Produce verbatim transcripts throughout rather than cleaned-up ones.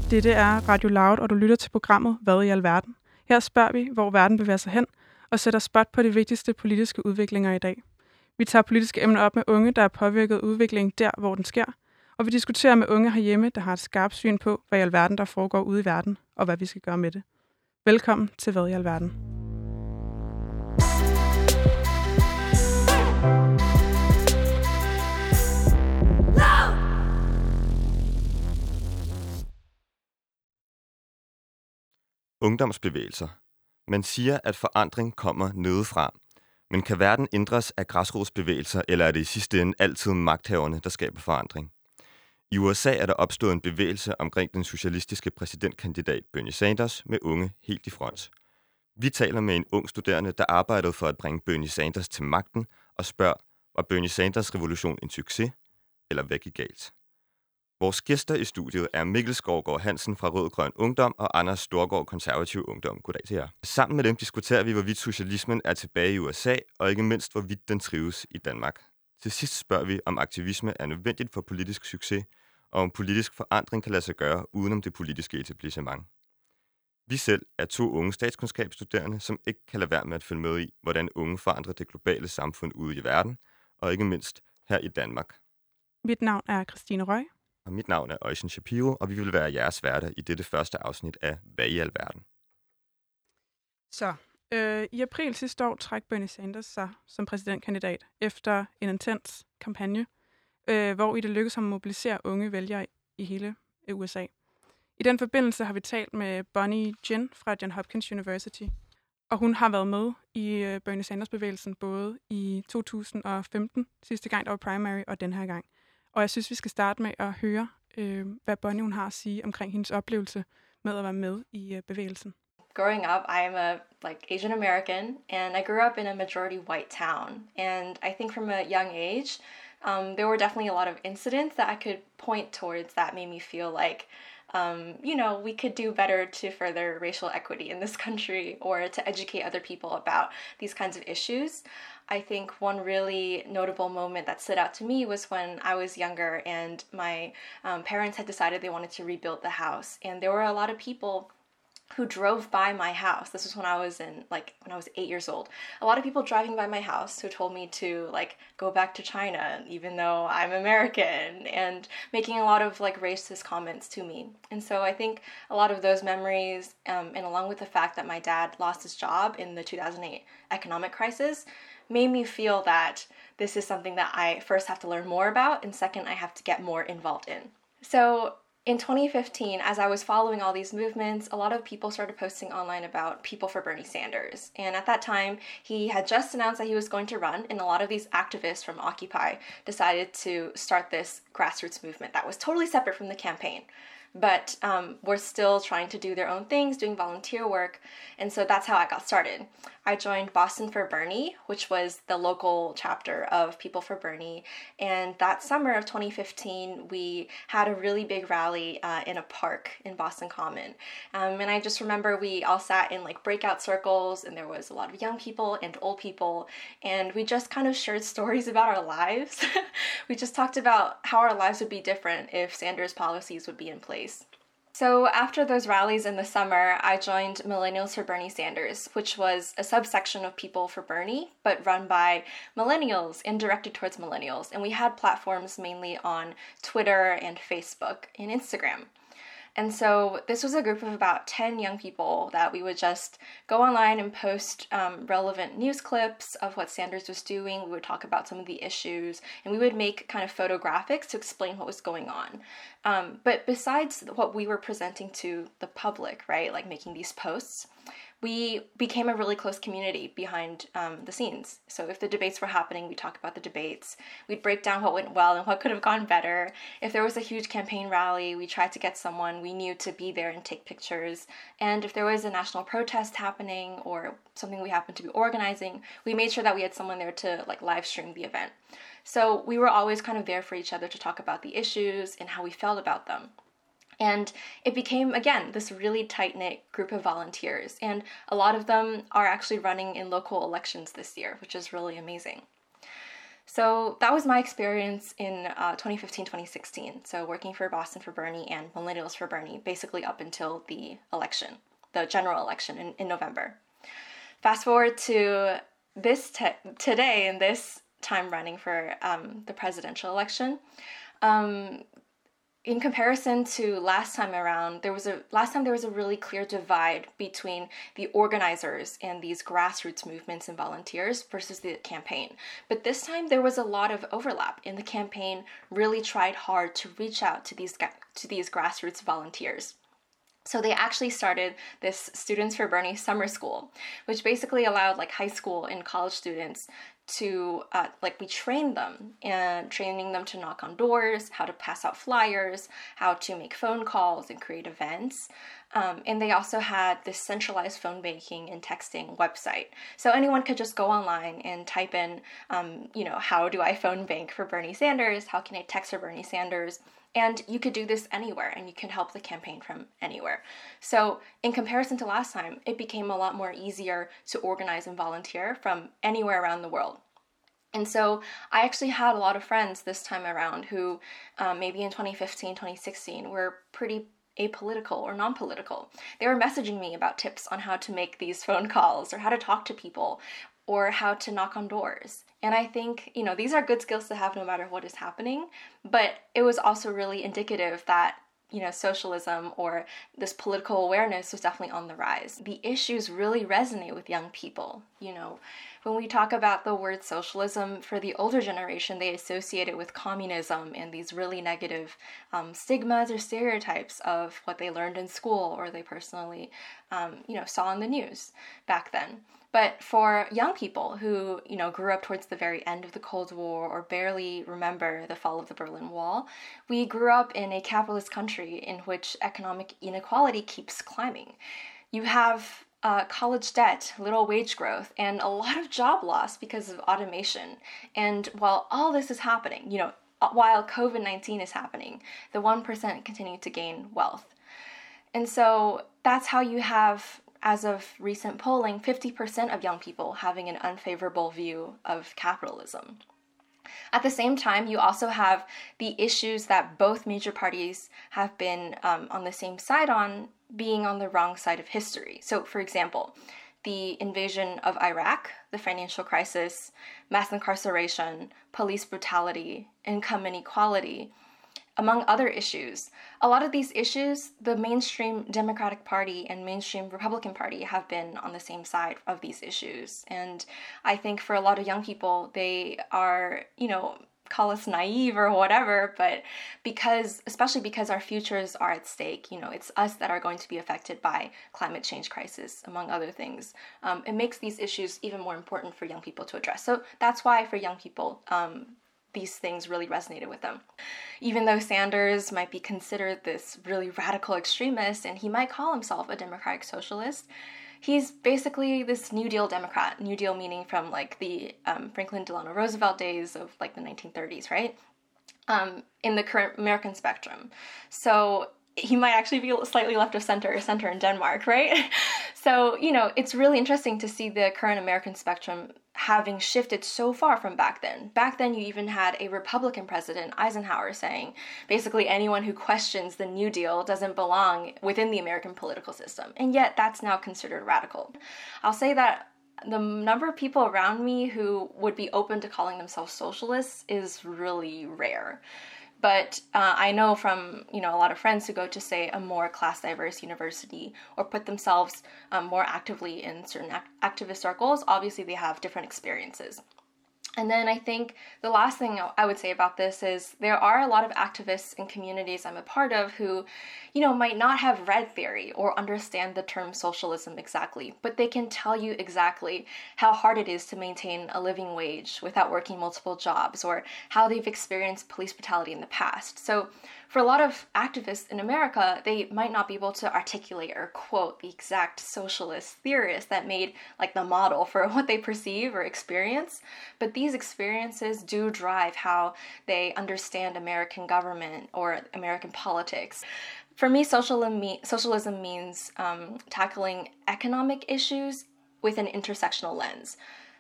Dette er Radio Loud, og du lytter til programmet Hvad i alverden? Her spørger vi, hvor verden bevæger sig hen, og sætter spot på de vigtigste politiske udviklinger i dag. Vi tager politiske emner op med unge, der er påvirket udviklingen der, hvor den sker, og vi diskuterer med unge herhjemme, der har et skarpt syn på, hvad i alverden der foregår ude i verden, og hvad vi skal gøre med det. Velkommen til Hvad i alverden? Ungdomsbevægelser. Man siger, at forandring kommer nedefra. Men kan verden ændres af græsrodsbevægelser, eller er det i sidste ende altid magthaverne, der skaber forandring? I U S A er der opstået en bevægelse omkring den socialistiske præsidentkandidat Bernie Sanders med unge helt i front. Vi taler med en ung studerende, der arbejdede for at bringe Bernie Sanders til magten, og spørger, var Bernie Sanders revolution en succes, eller hvad gik galt? Vores gæster i studiet er Mikkel Skovgaard Hansen fra Rød Grøn Ungdom og Anders Storgård Konservativ Ungdom. Goddag til jer. Sammen med dem diskuterer vi, hvorvidt socialismen er tilbage i U S A, og ikke mindst, hvorvidt den trives i Danmark. Til sidst spørger vi, om aktivisme er nødvendigt for politisk succes, og om politisk forandring kan lade sig gøre udenom det politiske etablissement. Vi selv er to unge statskundskabsstuderende, som ikke kan lade være med at følge med i, hvordan unge forandrer det globale samfund ude i verden, og ikke mindst her i Danmark. Mit navn er Christine Røg. Og mit navn er Øjsen Shapiro, og vi vil være jeres værter i dette første afsnit af Hvad i alverden? Så, øh, i april sidste år trak Bernie Sanders sig som præsidentkandidat efter en intens kampagne, øh, hvor i det lykkedes ham at mobilisere unge vælgere i hele U S A. I den forbindelse har vi talt med Bonnie Jin fra Johns Hopkins University, og hun har været med i øh, Bernie Sanders-bevægelsen både i to tusind og femten, sidste gang der var primary, og den her gang. Og jeg synes, vi skal starte med at høre, øh, hvad Bonnie hun har at sige omkring hendes oplevelse med at være med i øh, bevægelsen. Growing up, I'm a like Asian American, and I grew up in a majority white town. And I think from a young age, um, there were definitely a lot of incidents that I could point towards that made me feel like, um, you know, we could do better to further racial equity in this country or to educate other people about these kinds of issues. I think one really notable moment that stood out to me was when I was younger and my um, parents had decided they wanted to rebuild the house. And there were a lot of people who drove by my house. This was when I was in, like, when I was eight years old. A lot of people driving by my house who told me to, like, go back to China, even though I'm American, and making a lot of, like, racist comments to me. And so I think a lot of those memories, um, and along with the fact that my dad lost his job in the two thousand eight economic crisis, made me feel that this is something that I first have to learn more about, and second, I have to get more involved in. So in twenty fifteen, as I was following all these movements, a lot of people started posting online about People for Bernie Sanders. And at that time, he had just announced that he was going to run, and a lot of these activists from Occupy decided to start this grassroots movement that was totally separate from the campaign. But um, were still trying to do their own things, doing volunteer work. And so that's how I got started. I joined Boston for Bernie, which was the local chapter of People for Bernie. And that summer of twenty fifteen, we had a really big rally uh, in a park in Boston Common. Um, and I just remember we all sat in like breakout circles, and there was a lot of young people and old people. And we just kind of shared stories about our lives. We just talked about how our lives would be different if Sanders' policies would be in place. So after those rallies in the summer, I joined Millennials for Bernie Sanders, which was a subsection of People for Bernie, but run by millennials and directed towards millennials. And we had platforms mainly on Twitter and Facebook and Instagram. And so this was a group of about ten young people that we would just go online and post um, relevant news clips of what Sanders was doing. We would talk about some of the issues, and we would make kind of photographics to explain what was going on. Um, but besides what we were presenting to the public, right, like making these posts, we became a really close community behind um, the scenes. So if the debates were happening, we'd talk about the debates. We'd break down what went well and what could have gone better. If there was a huge campaign rally, we tried to get someone we knew to be there and take pictures. And if there was a national protest happening or something we happened to be organizing, we made sure that we had someone there to like live stream the event. So we were always kind of there for each other to talk about the issues and how we felt about them. And it became, again, this really tight-knit group of volunteers. And a lot of them are actually running in local elections this year, which is really amazing. So that was my experience in uh, twenty fifteen, twenty sixteen. So working for Boston for Bernie and Millennials for Bernie, basically up until the election, the general election in, in November. Fast forward to this te- today in this time running for um, the presidential election. Um, In comparison to last time around, there was a last time there was a really clear divide between the organizers and these grassroots movements and volunteers versus the campaign. But this time there was a lot of overlap, and the campaign really tried hard to reach out to these to these grassroots volunteers. So they actually started this Students for Bernie summer school, which basically allowed like high school and college students to, uh, like we trained them and training them to knock on doors, how to pass out flyers, how to make phone calls and create events. Um, and they also had this centralized phone banking and texting website. So anyone could just go online and type in, um, you know, how do I phone bank for Bernie Sanders? How can I text for Bernie Sanders? And you could do this anywhere, and you can help the campaign from anywhere. So in comparison to last time, it became a lot more easier to organize and volunteer from anywhere around the world. And so I actually had a lot of friends this time around who um, maybe in twenty fifteen, twenty sixteen were pretty apolitical or non-political. They were messaging me about tips on how to make these phone calls or how to talk to people or how to knock on doors. And I think, you know, these are good skills to have no matter what is happening, but it was also really indicative that, you know, socialism or this political awareness was definitely on the rise. The issues really resonate with young people. You know, when we talk about the word socialism, for the older generation, they associate it with communism and these really negative um, stigmas or stereotypes of what they learned in school or they personally, um, you know, saw in the news back then. But for young people who, you know, grew up towards the very end of the Cold War or barely remember the fall of the Berlin Wall, we grew up in a capitalist country in which economic inequality keeps climbing. You have uh, college debt, little wage growth, and a lot of job loss because of automation. And while all this is happening, you know, while covid nineteen is happening, the one percent continue to gain wealth. And so that's how you have, as of recent polling, fifty percent of young people having an unfavorable view of capitalism. At the same time, you also have the issues that both major parties have been um, on the same side on, being on the wrong side of history. So, for example, the invasion of Iraq, the financial crisis, mass incarceration, police brutality, income inequality, among other issues. A lot of these issues, the mainstream Democratic Party and mainstream Republican Party have been on the same side of these issues. And I think for a lot of young people, they are, you know, call us naive or whatever, but because, especially because our futures are at stake, you know, it's us that are going to be affected by climate change crisis, among other things. Um, it makes these issues even more important for young people to address. So that's why for young people, um, these things really resonated with them. Even though Sanders might be considered this really radical extremist, and he might call himself a democratic socialist, he's basically this New Deal Democrat. New Deal meaning from like the um, Franklin Delano Roosevelt days of like the nineteen thirties, right? Um, in the current American spectrum. So he might actually be slightly left of center or center in Denmark, right? So, you know, it's really interesting to see the current American spectrum having shifted so far from back then. Back then, you even had a Republican president, Eisenhower, saying basically anyone who questions the New Deal doesn't belong within the American political system. And yet that's now considered radical. I'll say that the number of people around me who would be open to calling themselves socialists is really rare. But uh, I know from, you know, a lot of friends who go to, say, a more class-diverse university or put themselves um, more actively in certain act- activist circles, obviously they have different experiences. And then I think the last thing I would say about this is there are a lot of activists and communities I'm a part of who, you know, might not have read theory or understand the term socialism exactly, but they can tell you exactly how hard it is to maintain a living wage without working multiple jobs or how they've experienced police brutality in the past. So for a lot of activists in America, they might not be able to articulate or quote the exact socialist theorists that made like the model for what they perceive or experience, but these experiences do drive how they understand American government or American politics. For me, socialism, me- socialism means um, tackling economic issues with an intersectional lens.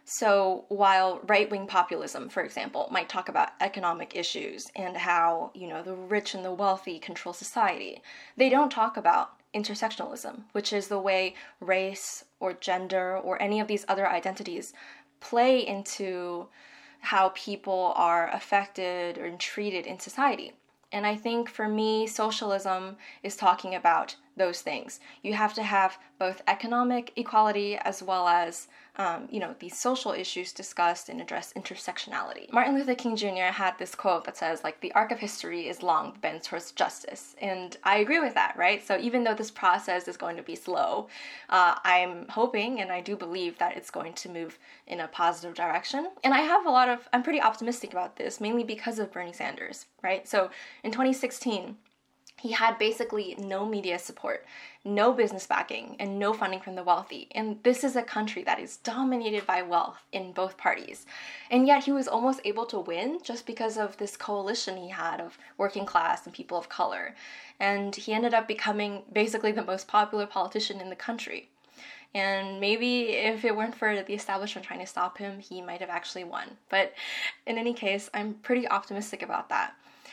So while right-wing populism, for example, might talk about economic issues and how, you know, the rich and the wealthy control society, they don't talk about intersectionalism, which is the way race or gender or any of these other identities play into how people are affected or treated in society. And I think for me, socialism is talking about those things. You have to have both economic equality as well as, um, you know, these social issues discussed and address intersectionality. Martin Luther King Junior had this quote that says, like, the arc of history is long, but bends towards justice. And I agree with that, right? So even though this process is going to be slow, uh, I'm hoping and I do believe that it's going to move in a positive direction. And I have a lot of, I'm pretty optimistic about this, mainly because of Bernie Sanders, right? So in twenty sixteen, he had basically no media support, no business backing, and no funding from the wealthy. And this is a country that is dominated by wealth in both parties. And yet he was almost able to win just because of this coalition he had of working class and people of color. And he ended up becoming basically the most popular politician in the country. And maybe if it weren't for the establishment trying to stop him, he might have actually won. But in any case, I'm pretty optimistic about that.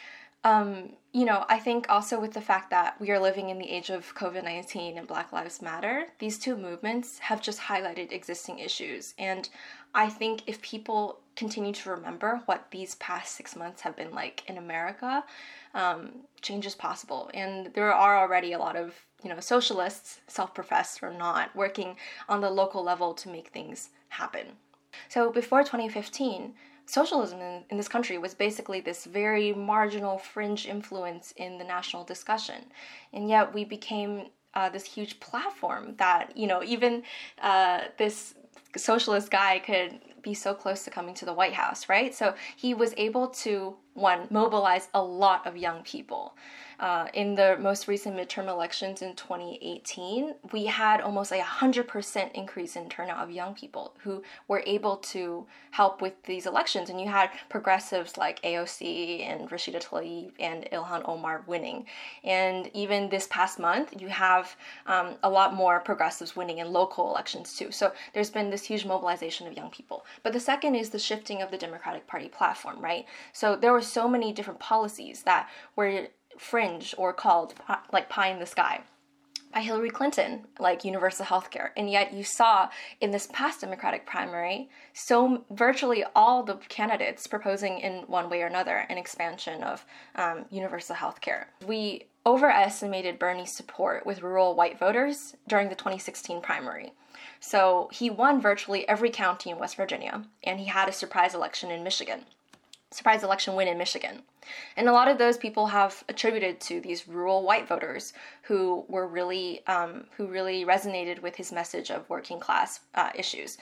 Um, you know, I think also with the fact that we are living in the age of COVID nineteen and Black Lives Matter, these two movements have just highlighted existing issues. And I think if people continue to remember what these past six months have been like in America, um, change is possible. And there are already a lot of, you know, socialists, self-professed or not, working on the local level to make things happen. So before twenty fifteen, socialism in, in this country was basically this very marginal fringe influence in the national discussion. And yet we became uh, this huge platform that, you know, even uh, this socialist guy could be so close to coming to the White House, right? So he was able to, one, mobilize a lot of young people. Uh, in the most recent midterm elections in twenty eighteen, we had almost a one hundred percent increase in turnout of young people who were able to help with these elections. And you had progressives like A O C and Rashida Tlaib and Ilhan Omar winning. And even this past month, you have um, a lot more progressives winning in local elections too. So there's been this huge mobilization of young people. But the second is the shifting of the Democratic Party platform, right? So there were so many different policies that were fringe or called like pie in the sky by Hillary Clinton, like universal health care. And yet you saw in this past Democratic primary, so virtually all the candidates proposing in one way or another an expansion of um, universal health care. We overestimated Bernie's support with rural white voters during the twenty sixteen primary. So he won virtually every county in West Virginia, and he had a surprise election in Michigan. surprise election win in Michigan. And a lot of those people have attributed to these rural white voters who were really, um, who really resonated with his message of working class uh, issues.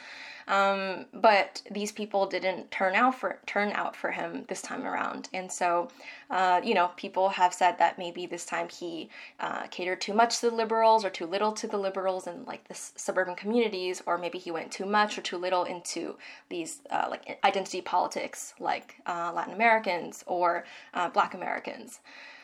Um, but these people didn't turn out for turn out for him this time around. And so, uh, you know, people have said that maybe this time he uh, catered too much to the liberals or too little to the liberals in like the s- suburban communities, or maybe he went too much or too little into these uh, like identity politics, like uh, Latin Americans or uh, Black Americans.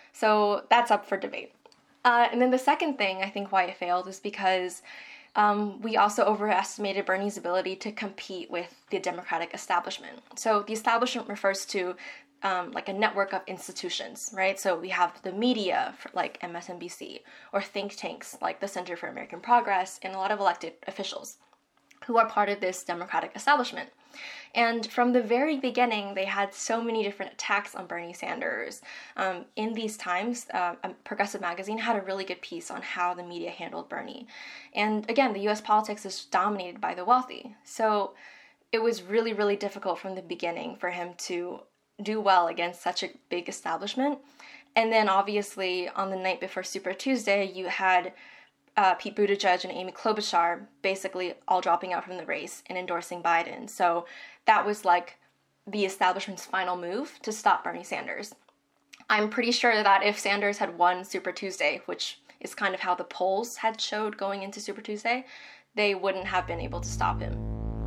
So that's up for debate. Uh, and then the second thing I think why it failed is because Um, we also overestimated Bernie's ability to compete with the Democratic establishment. So the establishment refers to um, like a network of institutions, right? So we have the media, like M S N B C, or think tanks like the Center for American Progress, and a lot of elected officials who are part of this Democratic establishment. And from the very beginning, they had so many different attacks on Bernie Sanders. Um, in these times, uh, Progressive Magazine had a really good piece on how the media handled Bernie. And again, the U S politics is dominated by the wealthy. So it was really, really difficult from the beginning for him to do well against such a big establishment. And then obviously on the night before Super Tuesday, you had Uh, Pete Buttigieg and Amy Klobuchar basically all dropping out from the race and endorsing Biden. So that was like the establishment's final move to stop Bernie Sanders. I'm pretty sure that if Sanders had won Super Tuesday, which is kind of how the polls had showed going into Super Tuesday, they wouldn't have been able to stop him.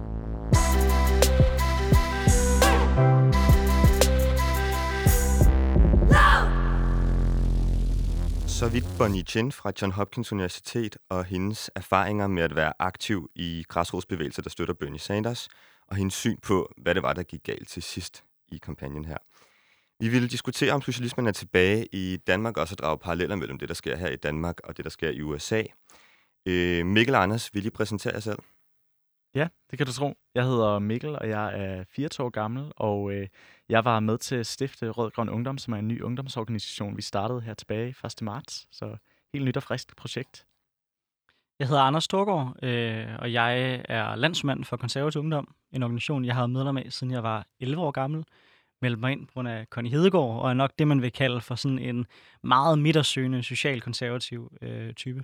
Så vidt Bonnie Chin fra Johns Hopkins Universitet og hendes erfaringer med at være aktiv i græsrodsbevægelser, der støtter Bernie Sanders. og hendes syn på, hvad det var, der gik galt til sidst i kampagnen her. Vi ville diskutere, om socialismen er tilbage i Danmark, og så drage paralleller mellem det, der sker her i Danmark, og det, der sker i U S A. Øh, Mikkel og Anders, vil I præsentere jer selv? Ja, det kan du tro. Jeg hedder Mikkel, og jeg er fireogtyve år gammel, og øh, jeg var med til at stifte Rød Grøn Ungdom, som er en ny ungdomsorganisation, vi startede her tilbage første marts. Så helt nyt og frisk projekt. Jeg hedder Anders Storgård, øh, og jeg er landsmand for Konservativ Ungdom, en organisation, jeg har været medlem af, siden jeg var elleve år gammel. Meldte mig ind på grund af Connie Hedegaard, og er nok det, man vil kalde for sådan en meget midtersøgende, social-konservativ øh, type.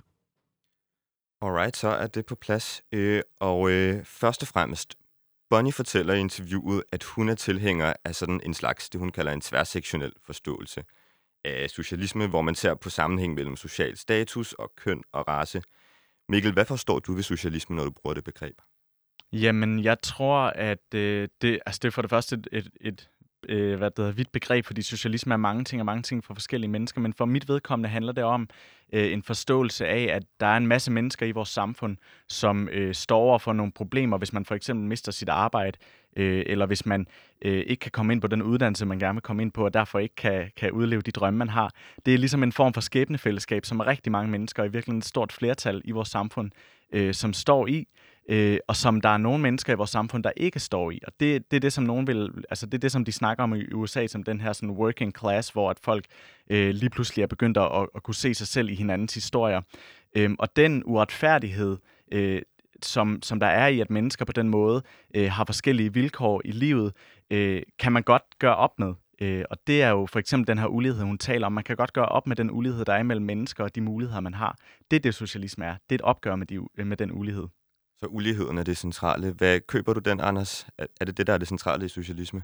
Alright, så er det på plads. Øh, og øh, først og fremmest, Bonnie fortæller i interviewet, at hun er tilhænger af sådan en slags, det hun kalder en tværsektionel forståelse af socialisme, hvor man ser på sammenhæng mellem social status og køn og race. Mikkel, hvad forstår du ved socialisme, når du bruger det begreb? Jamen, jeg tror, at øh, det, altså det er for det første et, et, et øh, hvad det hedder, vidt begreb, fordi socialisme er mange ting og mange ting for forskellige mennesker, men for mit vedkommende handler det om øh, en forståelse af, at der er en masse mennesker i vores samfund, som øh, står over for nogle problemer, hvis man for eksempel mister sit arbejde, øh, eller hvis man øh, ikke kan komme ind på den uddannelse, man gerne vil komme ind på, og derfor ikke kan, kan udleve de drømme, man har. Det er ligesom en form for skæbnefællesskab, som er rigtig mange mennesker, og i virkeligheden et stort flertal i vores samfund, øh, som står i. Øh, og som der er nogle mennesker i vores samfund, der ikke står i. Og det, det er det, som nogen vil, altså det er det, som de snakker om i U S A, som den her sådan working class, hvor at folk øh, lige pludselig er begyndt at, at kunne se sig selv i hinandens historier. Øh, og den uretfærdighed, øh, som, som der er i, at mennesker på den måde øh, har forskellige vilkår i livet, øh, kan man godt gøre op med. Øh, og det er jo for eksempel den her ulighed, hun taler om. Man kan godt gøre op med den ulighed, der er mellem mennesker og de muligheder, man har. Det er det, socialisme er. Det er et opgør med, de, med den ulighed. Så uligheden er det centrale. Hvad køber du den, Anders? Er det det, der er det centrale i socialisme?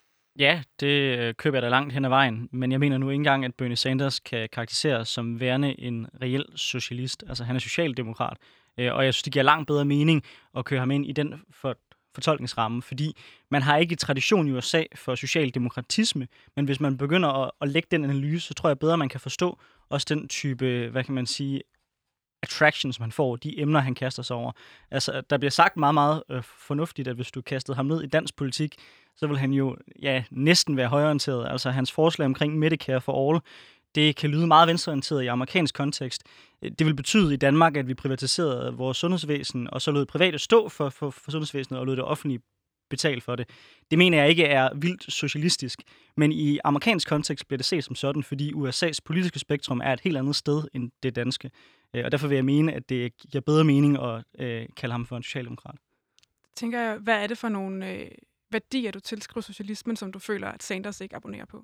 Ja, det øh, køber jeg da langt hen ad vejen, men jeg mener nu ikke engang, at Bernie Sanders kan karakteriseres som værende en reel socialist. Altså, han er socialdemokrat, øh, og jeg synes, det giver langt bedre mening at køre ham ind i den for, fortolkningsramme, fordi man har ikke tradition i U S A for socialdemokratisme, men hvis man begynder at, at lægge den analyse, så tror jeg bedre, man kan forstå også den type, hvad kan man sige, attractions, man får, de emner, han kaster sig over. Altså, der bliver sagt meget, meget øh, fornuftigt, at hvis du kastede ham ned i dansk politik, så vil han jo ja, næsten være højreorienteret. Altså, hans forslag omkring Medicare for All, det kan lyde meget venstreorienteret i amerikansk kontekst. Det vil betyde i Danmark, at vi privatiserede vores sundhedsvæsen, og så lod private stå for, for, for sundhedsvæsenet, og lod det offentlige betale for det. Det mener jeg ikke er vildt socialistisk, men i amerikansk kontekst bliver det set som sådan, fordi U S A's politiske spektrum er et helt andet sted end det danske. Og derfor vil jeg mene, at det giver bedre mening at øh, kalde ham for en socialdemokrat. Tænker jeg, hvad er det for nogle øh, værdier, du tilskriver socialismen, som du føler, at Sanders ikke abonnerer på?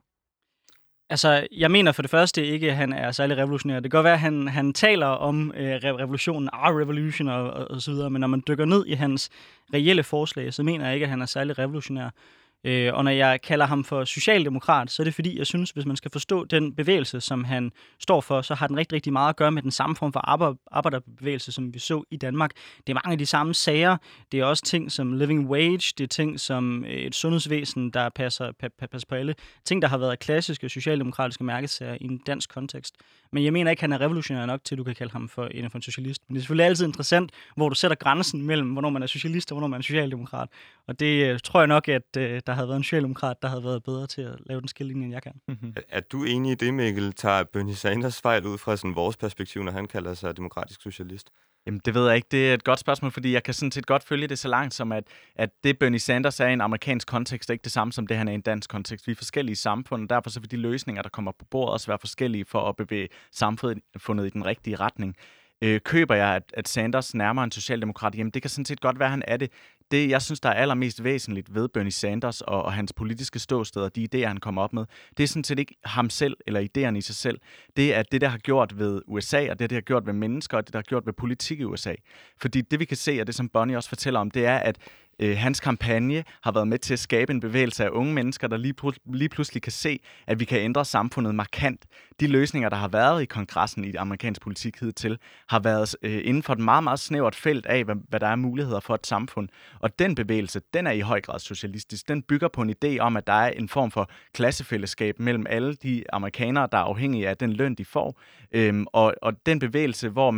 Altså, jeg mener for det første ikke, at han er særlig revolutionær. Det kan godt være, at han, han taler om øh, revolutionen, our revolution og, og, og så videre, men når man dykker ned i hans reelle forslag, så mener jeg ikke, at han er særlig revolutionær. Øh, og når jeg kalder ham for socialdemokrat, så er det fordi, jeg synes, hvis man skal forstå den bevægelse, som han står for, så har den rigtig, rigtig meget at gøre med den samme form for arbejderbevægelse, som vi så i Danmark. Det er mange af de samme sager. Det er også ting som living wage. Det er ting som et sundhedsvæsen, der passer, passer på alle. Ting, der har været klassiske socialdemokratiske mærkesager i en dansk kontekst. Men jeg mener ikke, han er revolutionær nok til, at du kan kalde ham for en, for en socialist. Men det er selvfølgelig altid interessant, hvor du sætter grænsen mellem, hvornår man er socialist og hvornår man er socialdemokrat. Og det tror jeg nok, at der havde været en socialdemokrat, der havde været bedre til at lave den skillelinje, end jeg kan. Mm-hmm. Er, er du enig i det, Mikkel? Tager Bernie Sanders fejl ud fra sådan vores perspektiv, når han kalder sig demokratisk socialist? Jamen, det ved jeg ikke. Det er et godt spørgsmål, fordi jeg kan sådan set godt følge det så langt som, at, at det Bernie Sanders er i en amerikansk kontekst, er ikke det samme som det, han er i en dansk kontekst. Vi er forskellige samfund, og derfor så vil de løsninger, der kommer på bordet, også være forskellige for at bevæge samfundet i den rigtige retning. Øh, køber jeg, at, at Sanders nærmer en socialdemokrat? Jamen, det kan sådan set godt være, han er det. Det, jeg synes, der er allermest væsentligt ved Bernie Sanders og, og hans politiske ståsted og de idéer, han kommer op med, det er sådan set ikke ham selv eller idéerne i sig selv. Det er det, der har gjort ved U S A, og det, der har gjort ved mennesker, og det, der har gjort ved politik i U S A. Fordi det, vi kan se, og det, som Bonnie også fortæller om, det er, at øh, hans kampagne har været med til at skabe en bevægelse af unge mennesker, der lige, pl- lige pludselig kan se, at vi kan ændre samfundet markant. De løsninger, der har været i kongressen i amerikansk politik hidtil, har været øh, inden for et meget, meget snævert felt af, hvad, hvad der er muligheder for et samfund. Og den bevægelse, den er i høj grad socialistisk. Den bygger på en idé om, at der er en form for klassefællesskab mellem alle de amerikanere, der er afhængige af den løn, de får. Øhm, og, og den bevægelse, hvor man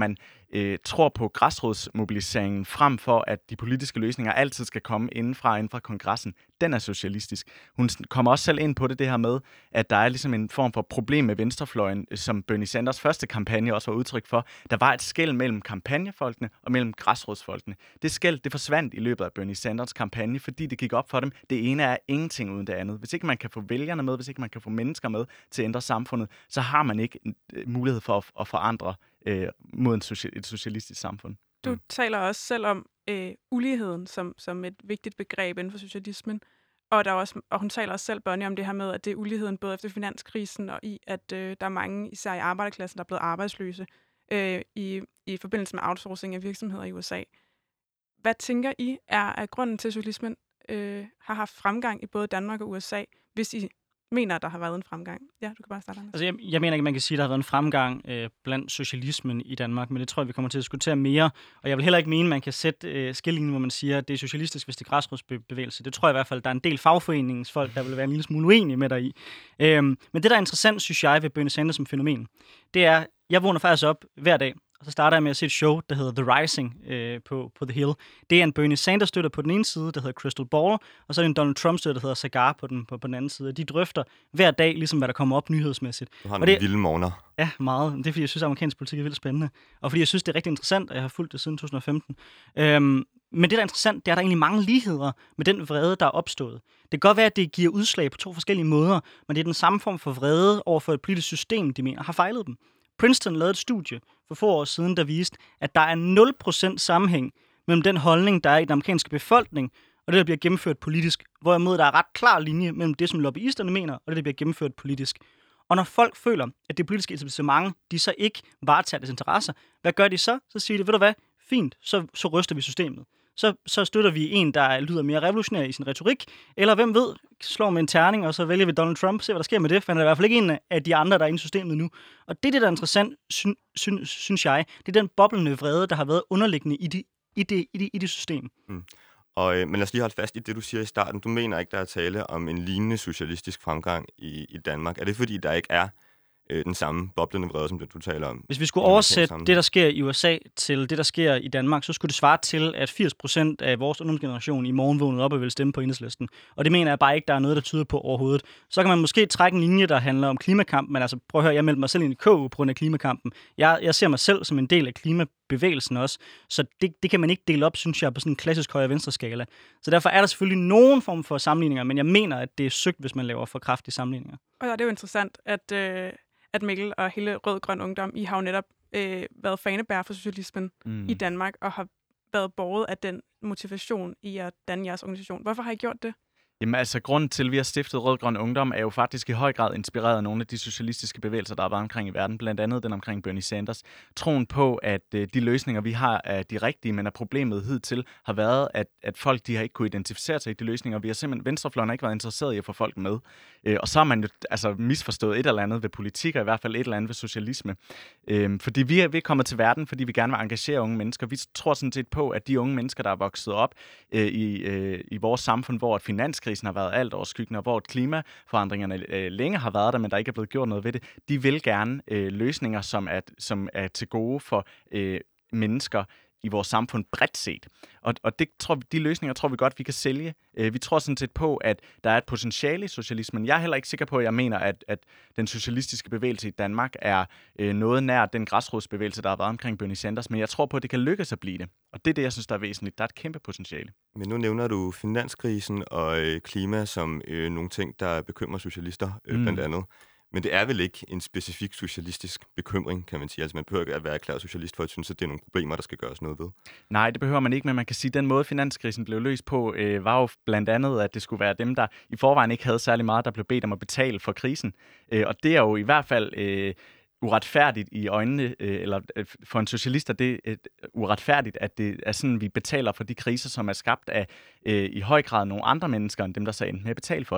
øh, tror på græsrodsmobiliseringen frem for, at de politiske løsninger altid skal komme indenfra, inden fra kongressen, den er socialistisk. Hun kommer også selv ind på det, det her med, at der er ligesom en form for problem med venstrefløjen, som Bernie Sanders første kampagne også var udtryk for. Der var et skel mellem kampagnefolkene og mellem græsrodsfolkene. Det skel, det forsvandt i løbet af Bernie Sanders kampagne, fordi det gik op for dem. Det ene er ingenting uden det andet. Hvis ikke man kan få vælgerne med, hvis ikke man kan få mennesker med til at ændre samfundet, så har man ikke mulighed for at, at forandre øh, mod en social, et socialistisk samfund. Du mm. taler også selv om øh, uligheden som, som et vigtigt begreb inden for socialismen, og, der er også, og hun taler også selv, Bonnie, om det her med, at det er uligheden både efter finanskrisen og i, at øh, der er mange, især i arbejderklassen, der er blevet arbejdsløse øh, i, i forbindelse med outsourcing af virksomheder i U S A. Hvad tænker I er, er grunden til, at socialismen øh, har haft fremgang i både Danmark og U S A, hvis I mener, at der har været en fremgang? Ja, du kan bare starte. Altså, jeg, jeg mener ikke, man kan sige, at der har været en fremgang øh, blandt socialismen i Danmark, men det tror jeg, vi kommer til at diskutere mere. Og jeg vil heller ikke mene, at man kan sætte øh, skillelinjen, hvor man siger, at det er socialistisk, hvis det er græsrodsbevægelse. Det tror jeg i hvert fald, der er en del fagforeningsfolk, der vil være en lille smule uenige med dig i. Øhm, men det, der er interessant, synes jeg, ved Bernie Sanders som fænomen, det er, jeg vågner faktisk op hver dag, og så starter jeg med at se et show, der hedder The Rising øh, på, på The Hill. Det er en Bernie Sanders-støtter på den ene side, der hedder Crystal Ball, og så er det en Donald Trump-støtter, der hedder Cigar på den, på, på den anden side. De drøfter hver dag, ligesom hvad der kommer op nyhedsmæssigt. Du har og nogle det, vilde morgener. Ja, meget. Det er, fordi jeg synes, at amerikansk politik er vildt spændende. Og fordi jeg synes, det er rigtig interessant, og jeg har fulgt det siden to tusind og femten. Øhm, men det, der er interessant, det er, at der er egentlig mange ligheder med den vrede, der er opstået. Det kan godt være, at det giver udslag på to forskellige måder, men det er den samme form for vrede over for et politisk system, de mener har fejlet dem. Princeton lavede et studie for få år siden, der viste, at der er nul procent sammenhæng mellem den holdning, der er i den amerikanske befolkning, og det, der bliver gennemført politisk. Hvorimod der er ret klar linje mellem det, som lobbyisterne mener, og det, der bliver gennemført politisk. Og når folk føler, at det politiske etablissement, de så ikke varetager deres interesser, hvad gør de så? Så siger de, ved du hvad, fint, så, så ryster vi systemet. Så, så støtter vi en, der lyder mere revolutionær i sin retorik, eller hvem ved, slår med en terning, og så vælger vi Donald Trump, se hvad der sker med det, for han er i hvert fald ikke en af de andre, der er inde i systemet nu. Og det er det, der er interessant, sy- sy- synes jeg, det er den boblende vrede, der har været underliggende i det, i det, i det, i det system. Mm. Og, øh, men lad os lige holde fast i det, du siger i starten. Du mener ikke, der er tale om en lignende socialistisk fremgang i, i Danmark. Er det fordi, der ikke er øh, den samme boblende vrede, som det, du taler om? Hvis vi skulle oversætte det, der sker i U S A, til det, der sker i Danmark, så skulle det svare til, at firs procent af vores ungdomsgeneration i morgen vågnede op og ville stemme på Enhedslisten. Og det mener jeg bare ikke, der er noget, der tyder på overhovedet. Så kan man måske trække en linje, der handler om klimakampen, men altså prøv at høre, jeg meldte mig selv ind i K U på grund af klimakampen. Jeg, jeg ser mig selv som en del af klimabevægelsen også, så det, det kan man ikke dele op, synes jeg, på sådan en klassisk højre-venstre skala. Så derfor er der selvfølgelig nogen form for sammenligninger, men jeg mener, at det er sygt, hvis man laver for kraftige sammenligninger. Og ja, det er jo interessant, at øh at Mikkel og hele Rød-Grøn Ungdom, I har jo netop øh, været fanebærer for socialismen mm. i Danmark, og har været båret af den motivation i at danne jeres organisation. Hvorfor har I gjort det? Jamen altså, grunden til, at vi har stiftet Rød-Grøn Ungdom, er jo faktisk i høj grad inspireret af nogle af de socialistiske bevægelser, der er været omkring i verden, blandt andet den omkring Bernie Sanders. Troen på, at øh, de løsninger, vi har, er de rigtige, men at problemet hidtil har været, at, at folk de har ikke kunne identificere sig i de løsninger. Vi har simpelthen, venstrefløjen har ikke været interesseret i at få folk med. Øh, og så har man jo altså misforstået et eller andet ved politik, og i hvert fald et eller andet ved socialisme. Øh, fordi vi er, vi er kommet til verden, fordi vi gerne vil engagere unge mennesker. Vi tror sådan set på, at de unge mennesker, der er vokset op øh, i, øh, i vores samfund, hvor et finans krisen har været alt overskyggende, og hvor klimaforandringerne øh, længe har været der, men der ikke er blevet gjort noget ved det. De vil gerne øh, løsninger, som er, som er til gode for øh, mennesker i vores samfund bredt set. Og, og det tror vi, de løsninger tror vi godt, vi kan sælge. Øh, vi tror sådan set på, at der er et potentiale i socialismen. Jeg er heller ikke sikker på, at jeg mener, at, at den socialistiske bevægelse i Danmark er øh, noget nær den græsrodsbevægelse, der har været omkring Bernie Sanders, men jeg tror på, at det kan lykkes at blive det. Og det er det, jeg synes, der er væsentligt. Der er et kæmpe potentiale. Men nu nævner du finanskrisen og øh, klima som øh, nogle ting, der bekymrer socialister, øh, mm. blandt andet. Men det er vel ikke en specifik socialistisk bekymring, kan man sige. Altså man behøver ikke at være erklæret socialist for at synes, at det er nogle problemer, der skal gøres noget ved. Nej, det behøver man ikke, men man kan sige, at den måde, finanskrisen blev løst på, øh, var jo blandt andet, at det skulle være dem, der i forvejen ikke havde særlig meget, der blev bedt om at betale for krisen. Øh, og det er jo i hvert fald øh, uretfærdigt i øjnene, øh, eller øh, for en socialist er det øh, uretfærdigt, at det er sådan, vi betaler for de kriser, som er skabt af øh, i høj grad nogle andre mennesker, end dem, der så endte med at betale for dem.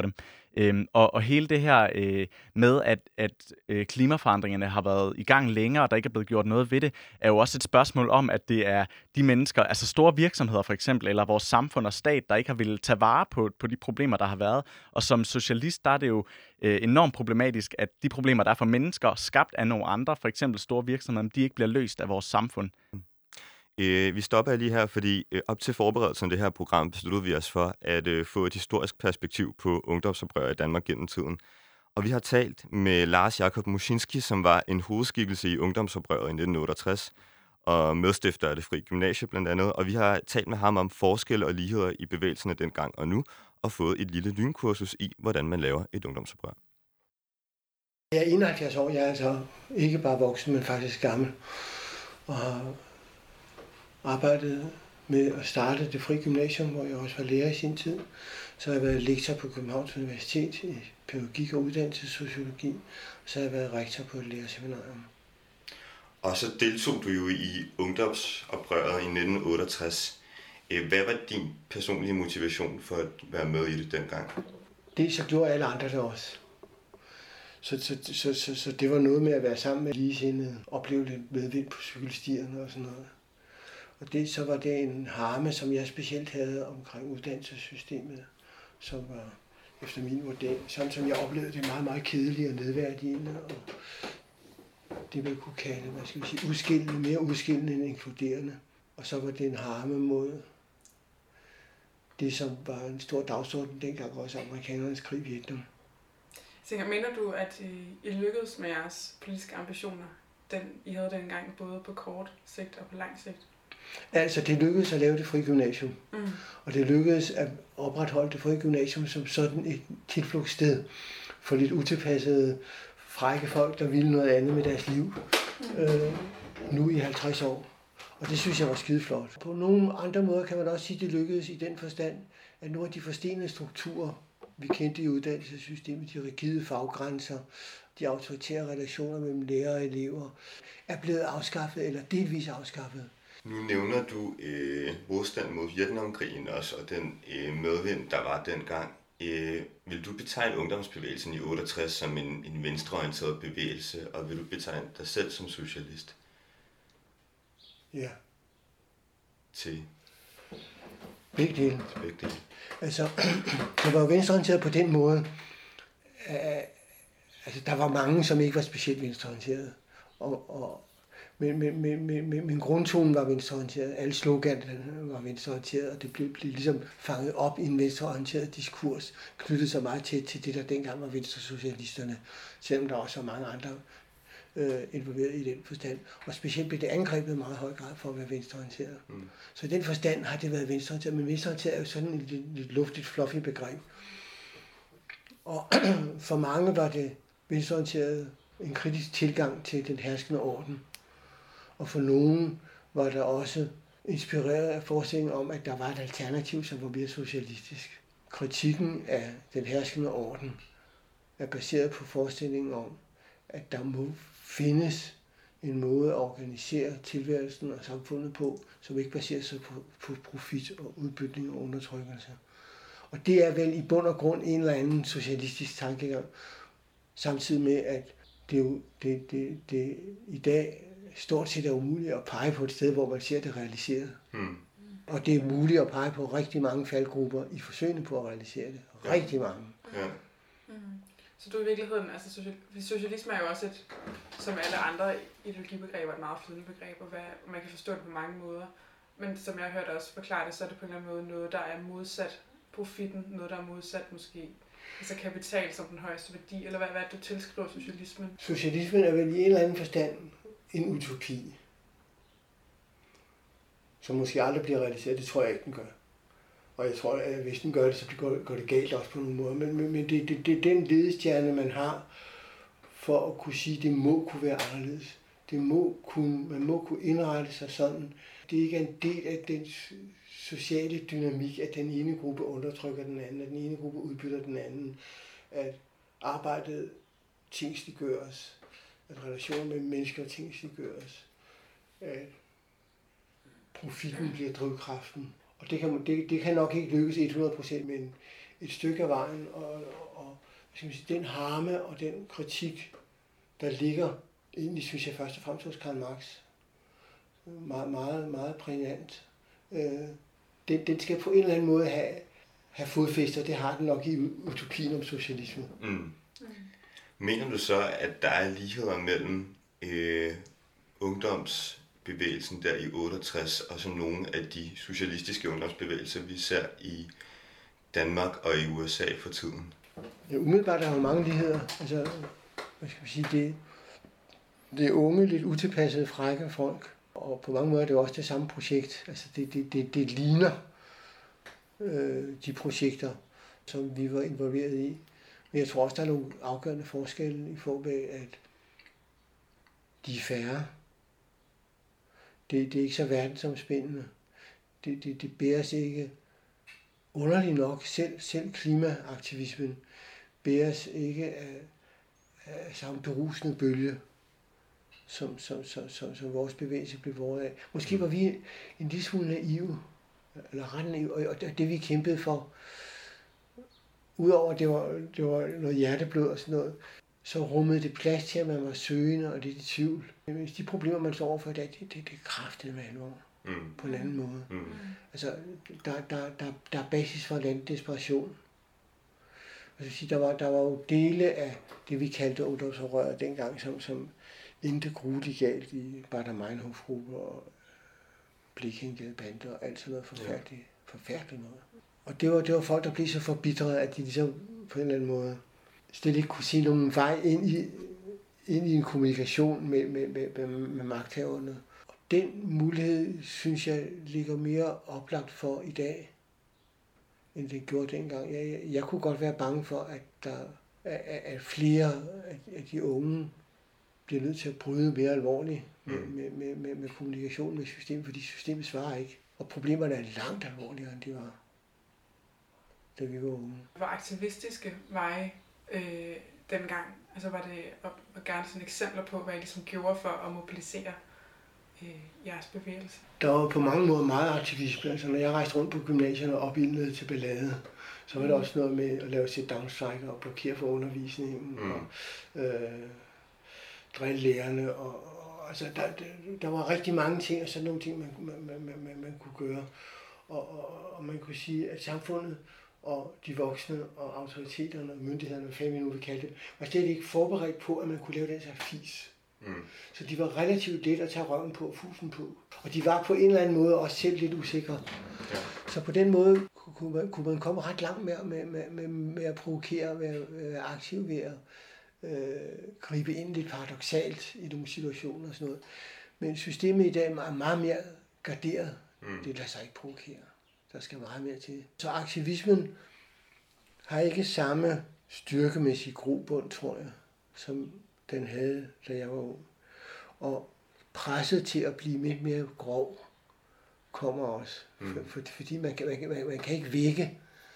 Øhm, og, og hele det her øh, med, at, at øh, klimaforandringerne har været i gang længere, og der ikke er blevet gjort noget ved det, er jo også et spørgsmål om, at det er de mennesker, altså store virksomheder for eksempel, eller vores samfund og stat, der ikke har ville tage vare på, på de problemer, der har været. Og som socialist, der er det jo øh, enormt problematisk, at de problemer, der er for mennesker, skabt af nogle andre, for eksempel store virksomheder, de ikke bliver løst af vores samfund. Øh, vi stopper lige her, fordi øh, op til forberedelsen af det her program besluttede vi os for at øh, få et historisk perspektiv på ungdomsoprør i Danmark gennem tiden. Og vi har talt med Lars Jakob Muschinski, som var en hovedskikkelse i ungdomsoprøret i nitten otteogtres, og medstifter af Det Frie Gymnasie blandt andet. Og vi har talt med ham om forskelle og ligheder i bevægelserne dengang og nu, og fået et lille lynkursus i, hvordan man laver et ungdomsoprør. Jeg er enoghalvfjerds år, jeg er altså ikke bare voksen, men faktisk gammel, og har arbejdet med at starte Det Frie Gymnasium, hvor jeg også var lærer i sin tid. Så har jeg været lektor på Københavns Universitet i pædagogik og uddannelsessociologi, så har jeg været rektor på et lærerseminarium. Og så deltog du jo i ungdomsoprøret i nitten otteogtres. Hvad var din personlige motivation for at være med i det dengang? Det så gjorde alle andre det også. Så, så, så, så, så det var noget med at være sammen med ligesindede, opleve lidt medvind på cykelstierne og sådan noget. Og det, så var det en harme, som jeg specielt havde omkring uddannelsessystemet, som var efter min vurdering, sådan som jeg oplevede det, meget, meget kedeligt og nedværdigende, og det man kunne kalde, hvad skal vi sige, udskillende, mere udskillende end inkluderende. Og så var det en harme mod det, som var en stor dagsorden dengang, også amerikanernes krig i Vietnam. Så mener du, at I lykkedes med jeres politiske ambitioner, den I havde dengang, både på kort sigt og på lang sigt? Altså, det lykkedes at lave Det Frie Gymnasium, mm. og det lykkedes at opretholde Det Frie Gymnasium som sådan et tilflugtssted for lidt utilpassede, frække folk, der ville noget andet med deres liv, mm. øh, nu i halvtreds år. Og det synes jeg var skideflot. På nogle andre måder kan man også sige, at det lykkedes i den forstand, at nogle af de forstenede strukturer, vi kendte i uddannelsessystemet, de rigide faggrænser, de autoritære relationer mellem lærere og elever, er blevet afskaffet eller delvis afskaffet. Nu nævner du øh, modstand mod Vietnamkrigen også, og den øh, medvind, der var dengang. Øh, vil du betegne ungdomsbevægelsen i otteogtres som en, en venstreorienteret bevægelse, og vil du betegne dig selv som socialist? Ja. Til? Begge dele. Til begge dele. Altså, det var jo venstreorienteret på den måde, at altså, der var mange, som ikke var specielt venstreorienteret. Og, og, men, men, men, men, men grundtonen var venstreorienteret. Alle sloganerne var venstreorienteret, og det blev, blev ligesom fanget op i en venstreorienteret diskurs, knyttet så meget til, til det, der dengang var venstresocialisterne, selvom der også var mange andre øh, involveret i den forstand. Og specielt blev det angrebet i meget høj grad for at være venstreorienteret. Mm. Så i den forstand har det været venstreorienteret, men venstreorienteret er jo sådan et lidt, lidt luftigt, fluffy begreb. Og for mange var det venstreorienteret en kritisk tilgang til den herskende orden. Og for nogen var der også inspireret af forestillingen om, at der var et alternativ, som var mere socialistisk. Kritikken af den herskende orden er baseret på forestillingen om, at der må findes en måde at organisere tilværelsen og samfundet på, som ikke baserer sig på, på profit og udbytning og undertrykkelse. Og det er vel i bund og grund en eller anden socialistisk tankegang, samtidig med, at det, jo, det, det, det i dag stort set er umuligt at pege på et sted, hvor man ser det realiseret. Hmm. Og det er muligt at pege på rigtig mange faldgrupper i forsøgene på at realisere det. Rigtig ja. mange. Ja. Mm. Så du i virkeligheden, altså socialisme er jo også et, som alle andre ideologibegreber, et meget flydende begreb, og hvad, man kan forstå det på mange måder. Men som jeg har hørt også forklare det, så er det på en eller anden måde noget, der er modsat profitten, noget, der er modsat måske altså kapital som den højeste værdi, eller hvad, hvad du tilskriver socialismen? Socialismen er vel i en eller anden forstand en utopi, som måske aldrig bliver realiseret. Det tror jeg ikke, den gør. Og jeg tror, at hvis den gør det, så går, går det galt også på nogle måder. Men, men, men det, det, det er den ledestjerne, man har for at kunne sige, at det må kunne være anderledes. Det må kunne, man må kunne indrette sig sådan. Det er ikke en del af den sociale dynamik, at den ene gruppe undertrykker den anden, at den ene gruppe udbytter den anden, at arbejdet tingsliggøres, at relationer mellem mennesker tingsliggøres, at profitten bliver drivkraften. Og det kan, det, det kan nok ikke lykkes hundrede procent, men et stykke af vejen, og, og skal man sige, den harme og den kritik, der ligger, egentlig synes jeg først og fremmest hos Karl Marx, meget, meget, meget prægnant. Øh, den, den skal på en eller anden måde have, have fodfæster, det har den nok i utopien om socialisme. Mm. Mm. Mener du så, at der er ligheder mellem øh, ungdomsbevægelsen der i otteogtres og så nogle af de socialistiske ungdomsbevægelser, vi ser i Danmark og i U S A for tiden? Ja, umiddelbart er der jo mange ligheder. Altså, hvad skal man sige, det, det er unge, lidt utilpassede, frække folk, og på mange måder er det også det samme projekt. Altså, det, det, det, det ligner øh, de projekter, som vi var involveret i. Men jeg tror også, der er nogle afgørende forskelle i forhold til, at de er færre. Det, det er ikke så verdensomspændende. Det, det, det bæres ikke underligt nok. Selv, selv klimaaktivismen bæres ikke af, af samme berusende bølge, som, som, som, som, som vores bevægelse blev båret af. Måske var vi en lille smule naive, eller ret naive, og det vi kæmpede for, udover at det var, det var noget hjerteblod og sådan noget, så rummede det plads til, at man var søgende og lidt i tvivl. Hvis de problemer, man står overfor i dag, det, det, det er kraftigt med alvor. Mm. På en anden måde. Mm. Altså, der, der, der, der er basis for en anden desperation. Altså, der, var, der var jo dele af det, vi kaldte ungdomsoprøret dengang, som, som endte grueligt galt i Baader-Meinhof-grupper og Blekingegadebander og alt sådan noget forfærdeligt, forfærdeligt noget. Og det var, det var folk, der blev så forbitret, at de ligesom på en eller anden måde slet ikke kunne se nogen vej ind i, ind i en kommunikation med, med, med, med, med magthaverne. Og den mulighed, synes jeg, ligger mere oplagt for i dag, end det gjorde dengang. Jeg, jeg, jeg kunne godt være bange for, at, der, at, at flere af de unge bliver nødt til at bryde mere alvorligt med, mm. med, med, med, med kommunikation med systemet, fordi systemet svarer ikke. Og problemerne er langt alvorligere, end de var, da vi var unge. Hvor aktivistiske veje øh, dengang? Altså var det og, og gerne sådan eksempler på, hvad I ligesom gjorde for at mobilisere øh, jeres bevægelse? Der var på mange måder meget aktivisme. Altså når jeg rejste rundt på gymnasierne og opildnede til ballade, så var det også noget med at lave sit-down-strike og blokere for undervisningen mm. og øh, drille lærerne. Og, og, altså, der, der var rigtig mange ting, og sådan nogle ting, man, man, man, man, man kunne gøre. Og, og, og man kunne sige, at samfundet og de voksne og autoriteterne og myndighederne, hvad fanden vi nu vil kalde det, var slet ikke forberedt på, at man kunne lave den slags fis. Mm. Så de var relativt let at tage røven på og fusen på. Og de var på en eller anden måde også selv lidt usikre. Ja. Så på den måde kunne man, kunne man komme ret langt med, med, med, med, med at provokere, med at være aktiv, ved at øh, gribe ind lidt paradoksalt i nogle situationer og sådan noget. Men systemet i dag er meget mere garderet. Mm. Det lader sig ikke provokere. Der skal meget mere til. Så aktivismen har ikke samme styrkemæssig grobund, tror jeg, som den havde, da jeg var ung. Og presset til at blive lidt mere grov kommer også. Mm. For, for, fordi man kan, man, man, man kan ikke vække.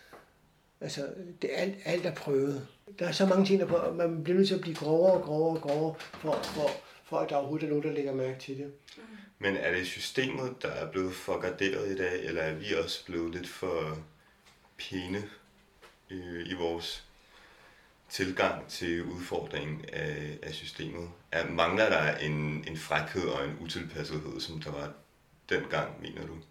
Altså, det er alt, alt er prøvet. Der er så mange ting, der man bliver nødt til at blive grovere og grovere og grovere, for, for, for at der overhovedet er nogen, der lægger mærke til det. Men er det systemet, der er blevet for garderet i dag, eller er vi også blevet lidt for pæne i, i vores tilgang til udfordringen af, af systemet? Er, mangler der en, en frækhed og en utilpassethed, som der var dengang, mener du?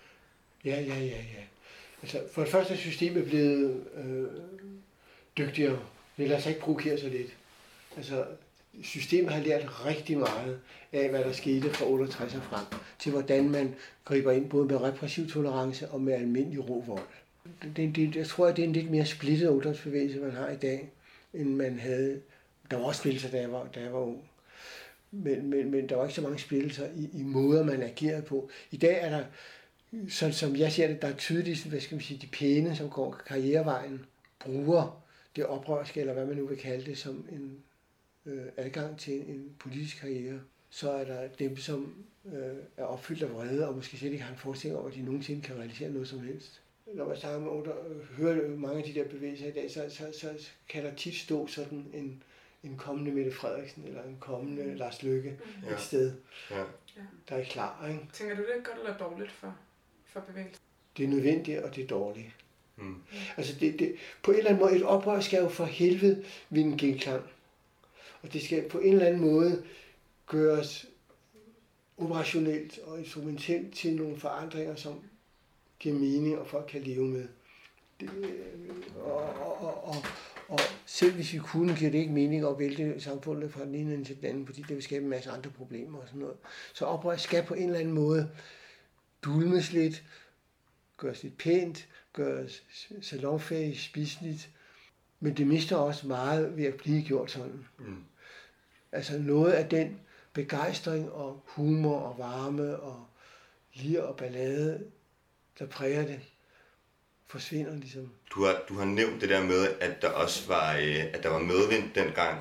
Ja, ja, ja, ja. Altså, for det første er systemet blevet øh, dygtigere. Det lader sig ikke provokere så lidt. Altså, systemet har lært rigtig meget af, hvad der skete fra otteogtres og frem, til hvordan man griber ind både med repressiv tolerance og med almindelig rå vold. Det, det, jeg tror, at det er en lidt mere splittet ungdomsbevægelse, man har i dag, end man havde. Der var også splittelser, da jeg var, da jeg var ung. Men, men, men der var ikke så mange splittelser i, i måder, man agerede på. I dag er der, sådan som jeg ser det, der er tydeligt, hvad skal man sige, de pæne, som går karrierevejen, bruger det oprørske, eller hvad man nu vil kalde det, som en øh, adgang til en politisk karriere. Så er der dem, som øh, er opfyldt af vrede, og måske slet ikke har en forestilling om, at de nogensinde kan realisere noget som helst. Når man snakker med under, hører mange af de der bevægelser i dag, så, så, så kan der tit stå sådan en, en kommende Mette Frederiksen, eller en kommende Lars Løkke ja. et sted, ja. der er klar. Ikke? Tænker du, det er godt eller dårligt for, for bevægelsen? Det er nødvendigt, og det er dårligt. Mm. Altså det, det, på en eller anden måde, et oprør skal jo for helvede vinde genklang. Og det skal på en eller anden måde gøres operationelt og instrumentelt til nogle forandringer, som giver mening, og folk kan leve med. Det, og, og, og, og selv hvis vi kunne, giver det ikke mening at vælte samfundet fra den ene til den anden, fordi det vil skabe en masse andre problemer og sådan noget. Så oprør skal på en eller anden måde dulmes lidt, gøres lidt pænt, gøres salonfæhigt, spiseligt, men det mister også meget ved at blive gjort sådan. Mm. Altså noget af den begejstring og humor og varme og lir og ballade, der præger det, forsvinder ligesom. Du har, du har nævnt det der med, at der også var, øh, at der var medvind dengang.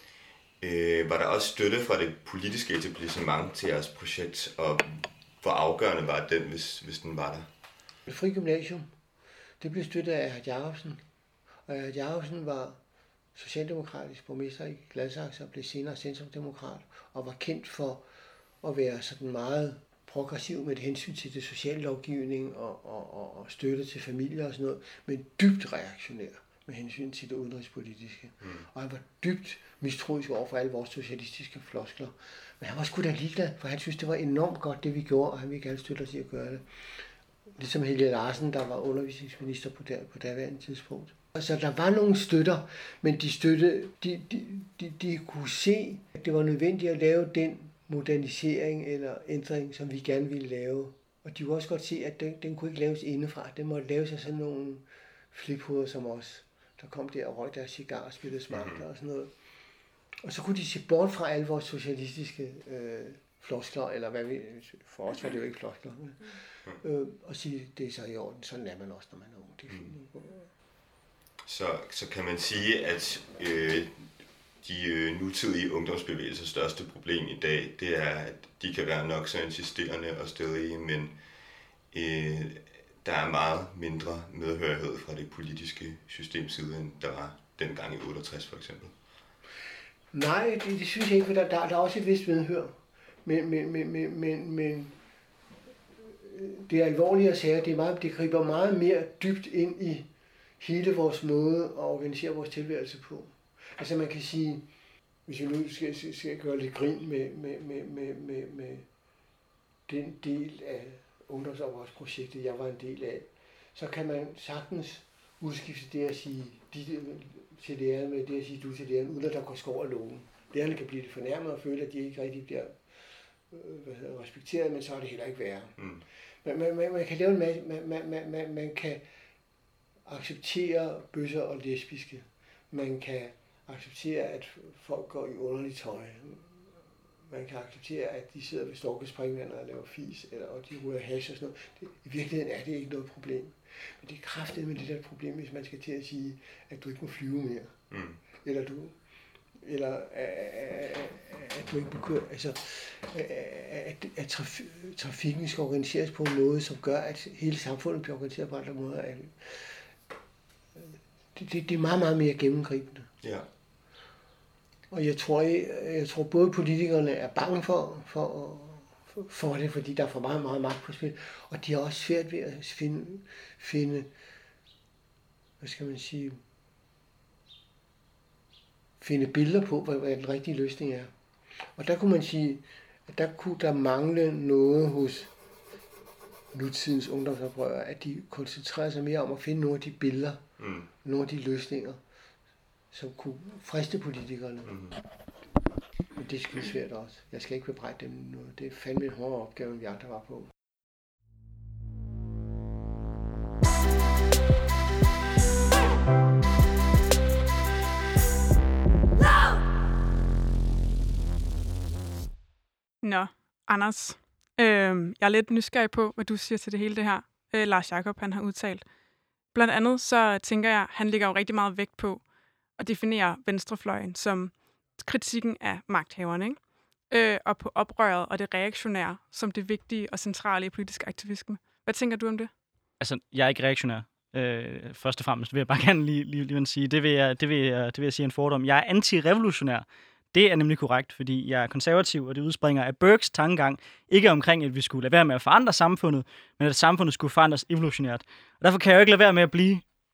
Øh, var der også støtte fra det politiske etablissement til jeres projekt, og hvor afgørende var den, hvis, hvis den var der? Det Fri Gymnasium, det blev støttet af Erhard Jacobsen, og Erhard Jacobsen var socialdemokratisk borgmester i Gladsaxe og blev senere centrumdemokrat, og var kendt for at være sådan meget progressiv med hensyn til det sociale lovgivning og, og, og, og støtte til familier og sådan noget, men dybt reaktionær med hensyn til det udenrigspolitiske. Mm. Og han var dybt mistroisk over for alle vores socialistiske floskler. Men han var sgu da ligeglad, for han synes, det var enormt godt, det vi gjorde, og han ville gerne støtte os i at gøre det. Ligesom Helge Larsen, der var undervisningsminister på, der, på daværende tidspunkt. Så der var nogle støtter, men de støtte, de, de, de, de kunne se, at det var nødvendigt at lave den modernisering eller ændring, som vi gerne ville lave. Og de kunne også godt se, at den, den kunne ikke laves indefra. Den måtte laves af sådan nogle fliphoveder som os, der kom der og røg deres cigar og spillede smarter og sådan noget. Og så kunne de se bort fra alle vores socialistiske øh, floskler, eller hvad vi, for os var det jo ikke floskler, øh, og sige, det er så i orden, sådan er man også, når man er ung. Det er fint. Så, så kan man sige, at øh, de øh, nutidige ungdomsbevægelsers største problem i dag, det er, at de kan være nok så insisterende og stedige, men øh, der er meget mindre medhørighed fra det politiske systems side, end der var dengang i otteogtres for eksempel. Nej, det, det synes jeg ikke, for der, der, der er også et vist medhør. Men, men, men, men, men, men det er alvorlige sager, det, er meget, det griber meget mere dybt ind i hele vores måde at organisere vores tilværelse på. Altså man kan sige, hvis vi nu skal, skal gøre lidt grin med, med, med, med, med, med den del af ungdomsoprørsprojektet, jeg var en del af, så kan man sagtens udskifte det at sige de, til lærerne med det at sige du til lærerne, uden at der går skov af loven. Lærerne kan blive lidt fornærmet og føle, at de ikke rigtig bliver hvad hedder, respekteret, men så er det heller ikke værre. Mm. Man, man, man, man kan lave en masse, man, man, man, man kan acceptere bøsser og lesbiske. Man kan acceptere, at folk går i underligt tøj. Man kan acceptere, at de sidder ved storkespringvandet og laver fis, eller, og de ryger hash og sådan noget. Det, i virkeligheden er det ikke noget problem. Men det er kraftigt med det der problem, hvis man skal til at sige, at du ikke må flyve mere. Mm. Eller du eller at du ikke må køre, altså at, at traf, trafikken skal organiseres på en måde, som gør, at hele samfundet bliver organiseret på andre måder. Det, det, det er meget, meget mere gennemgribende. Ja. Og jeg tror, jeg, jeg tror både politikerne er bange for, for, for det, fordi der er for meget, meget magt på spil, og de har også svært ved at finde, finde hvad skal man sige, finde billeder på, hvad, hvad den rigtige løsning er. Og der kunne man sige, at der kunne der mangle noget hos nutidens ungdomsoprørere, at de koncentrerer sig mere om at finde nogle af de billeder, mm. nogle af de løsninger, som kunne friste politikerne. Mm. Men det er sgu svært også. Jeg skal ikke bebrejde dem noget. Det er fandme en hårdere opgave, end vi andre var på. Nå, Anders. Øh, jeg er lidt nysgerrig på, hvad du siger til det hele det her. Øh, Lars Jacob, han har udtalt. Blandt andet så tænker jeg, han lægger jo rigtig meget vægt på at definere venstrefløjen som kritikken af magthaverne, ikke? Øh, og på oprøret og det reaktionære som det vigtige og centrale i politisk aktivisme. Hvad tænker du om det? Altså, jeg er ikke reaktionær. Øh, først og fremmest vil jeg bare gerne lige, lige, lige sige, det vil, jeg, det, vil jeg, det vil jeg sige en fordom. Jeg er antirevolutionær. Det er nemlig korrekt, fordi jeg er konservativ, og det udspringer af Burkes tankegang, ikke omkring, at vi skulle lade være med at forandre samfundet, men at samfundet skulle forandres evolutionært. Og derfor kan jeg jo ikke lade være med at blive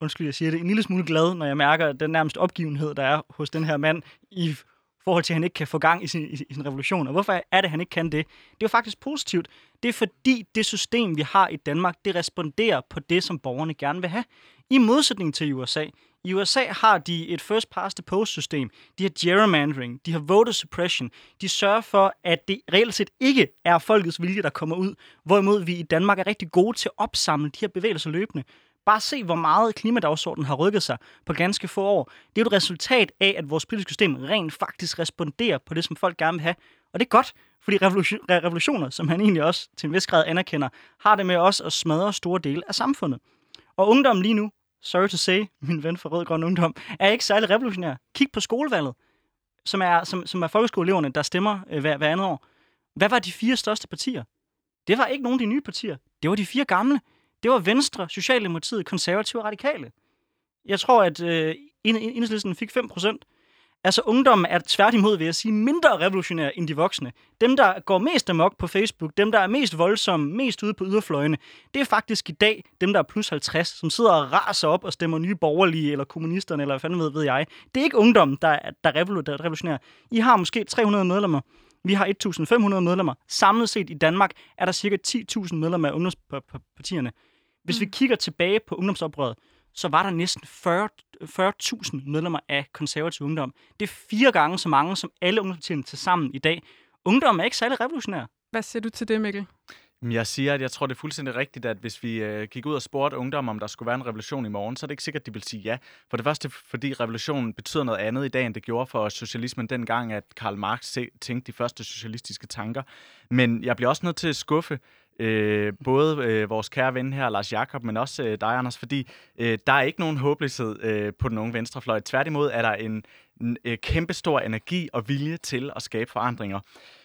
undskyld, jeg siger det, en lille smule glad, når jeg mærker den nærmest opgivenhed, der er hos den her mand i forhold til, at han ikke kan få gang i sin, i sin revolution. Og hvorfor er det, at han ikke kan det? Det er jo faktisk positivt. Det er fordi, det system, vi har i Danmark, det responderer på det, som borgerne gerne vil have. I modsætning til U S A. I U S A har de et first past the post system. De har gerrymandering. De har voter suppression. De sørger for, at det reelt set ikke er folkets vilje, der kommer ud. Hvorimod vi i Danmark er rigtig gode til at opsamle de her bevægelser løbende. Bare se, hvor meget klimadagsordenen har rykket sig på ganske få år. Det er jo et resultat af, at vores politiske system rent faktisk responderer på det, som folk gerne vil have. Og det er godt, fordi revolutioner, som han egentlig også til en vis grad anerkender, har det med også at smadre store dele af samfundet. Og ungdommen lige nu, sorry to say, min ven fra Rød Grøn Ungdom, er ikke særlig revolutionær. Kig på skolevalget, som er, som, som er folkeskoleeleverne, der stemmer øh, hver, hver andet år. Hvad var de fire største partier? Det var ikke nogen af de nye partier. Det var de fire gamle. Det var Venstre, Socialdemokratiet, Konservative og Radikale. Jeg tror, at øh, Enhedslisten fik fem procent. Altså, ungdommen er tværtimod, vil jeg sige, mindre revolutionære end de voksne. Dem, der går mest amok på Facebook, dem, der er mest voldsomme, mest ude på yderfløjene, det er faktisk i dag dem, der er plus halvtreds, som sidder og raser op og stemmer nye borgerlige, eller kommunisterne, eller hvad fanden ved, ved jeg. Det er ikke ungdommen, der er, der er revolutionære. I har måske tre hundrede medlemmer. Vi har et tusind fem hundrede medlemmer. Samlet set i Danmark er der cirka ti tusind medlemmer af ungdomspartierne. Hvis vi kigger tilbage på ungdomsoprøret, så var der næsten fyrre tusind medlemmer af konservativ ungdom. Det er fire gange så mange som alle ungdomspartierne til sammen i dag. Ungdom er ikke særlig revolutionær. Hvad siger du til det, Mikkel? Jeg siger, at jeg tror, det er fuldstændig rigtigt, at hvis vi øh, gik ud og spurgte ungdom, om der skulle være en revolution i morgen, så er det ikke sikkert, at de vil sige ja. For det første, fordi revolutionen betyder noget andet i dag, end det gjorde for socialismen dengang, at Karl Marx tænkte de første socialistiske tanker. Men jeg bliver også nødt til at skuffe øh, både øh, vores kære ven her, Lars Jakob, men også øh, dig, Anders, fordi øh, der er ikke nogen håbløshed øh, på den unge venstrefløj. Tværtimod er der en, en øh, kæmpestor energi og vilje til at skabe forandringer.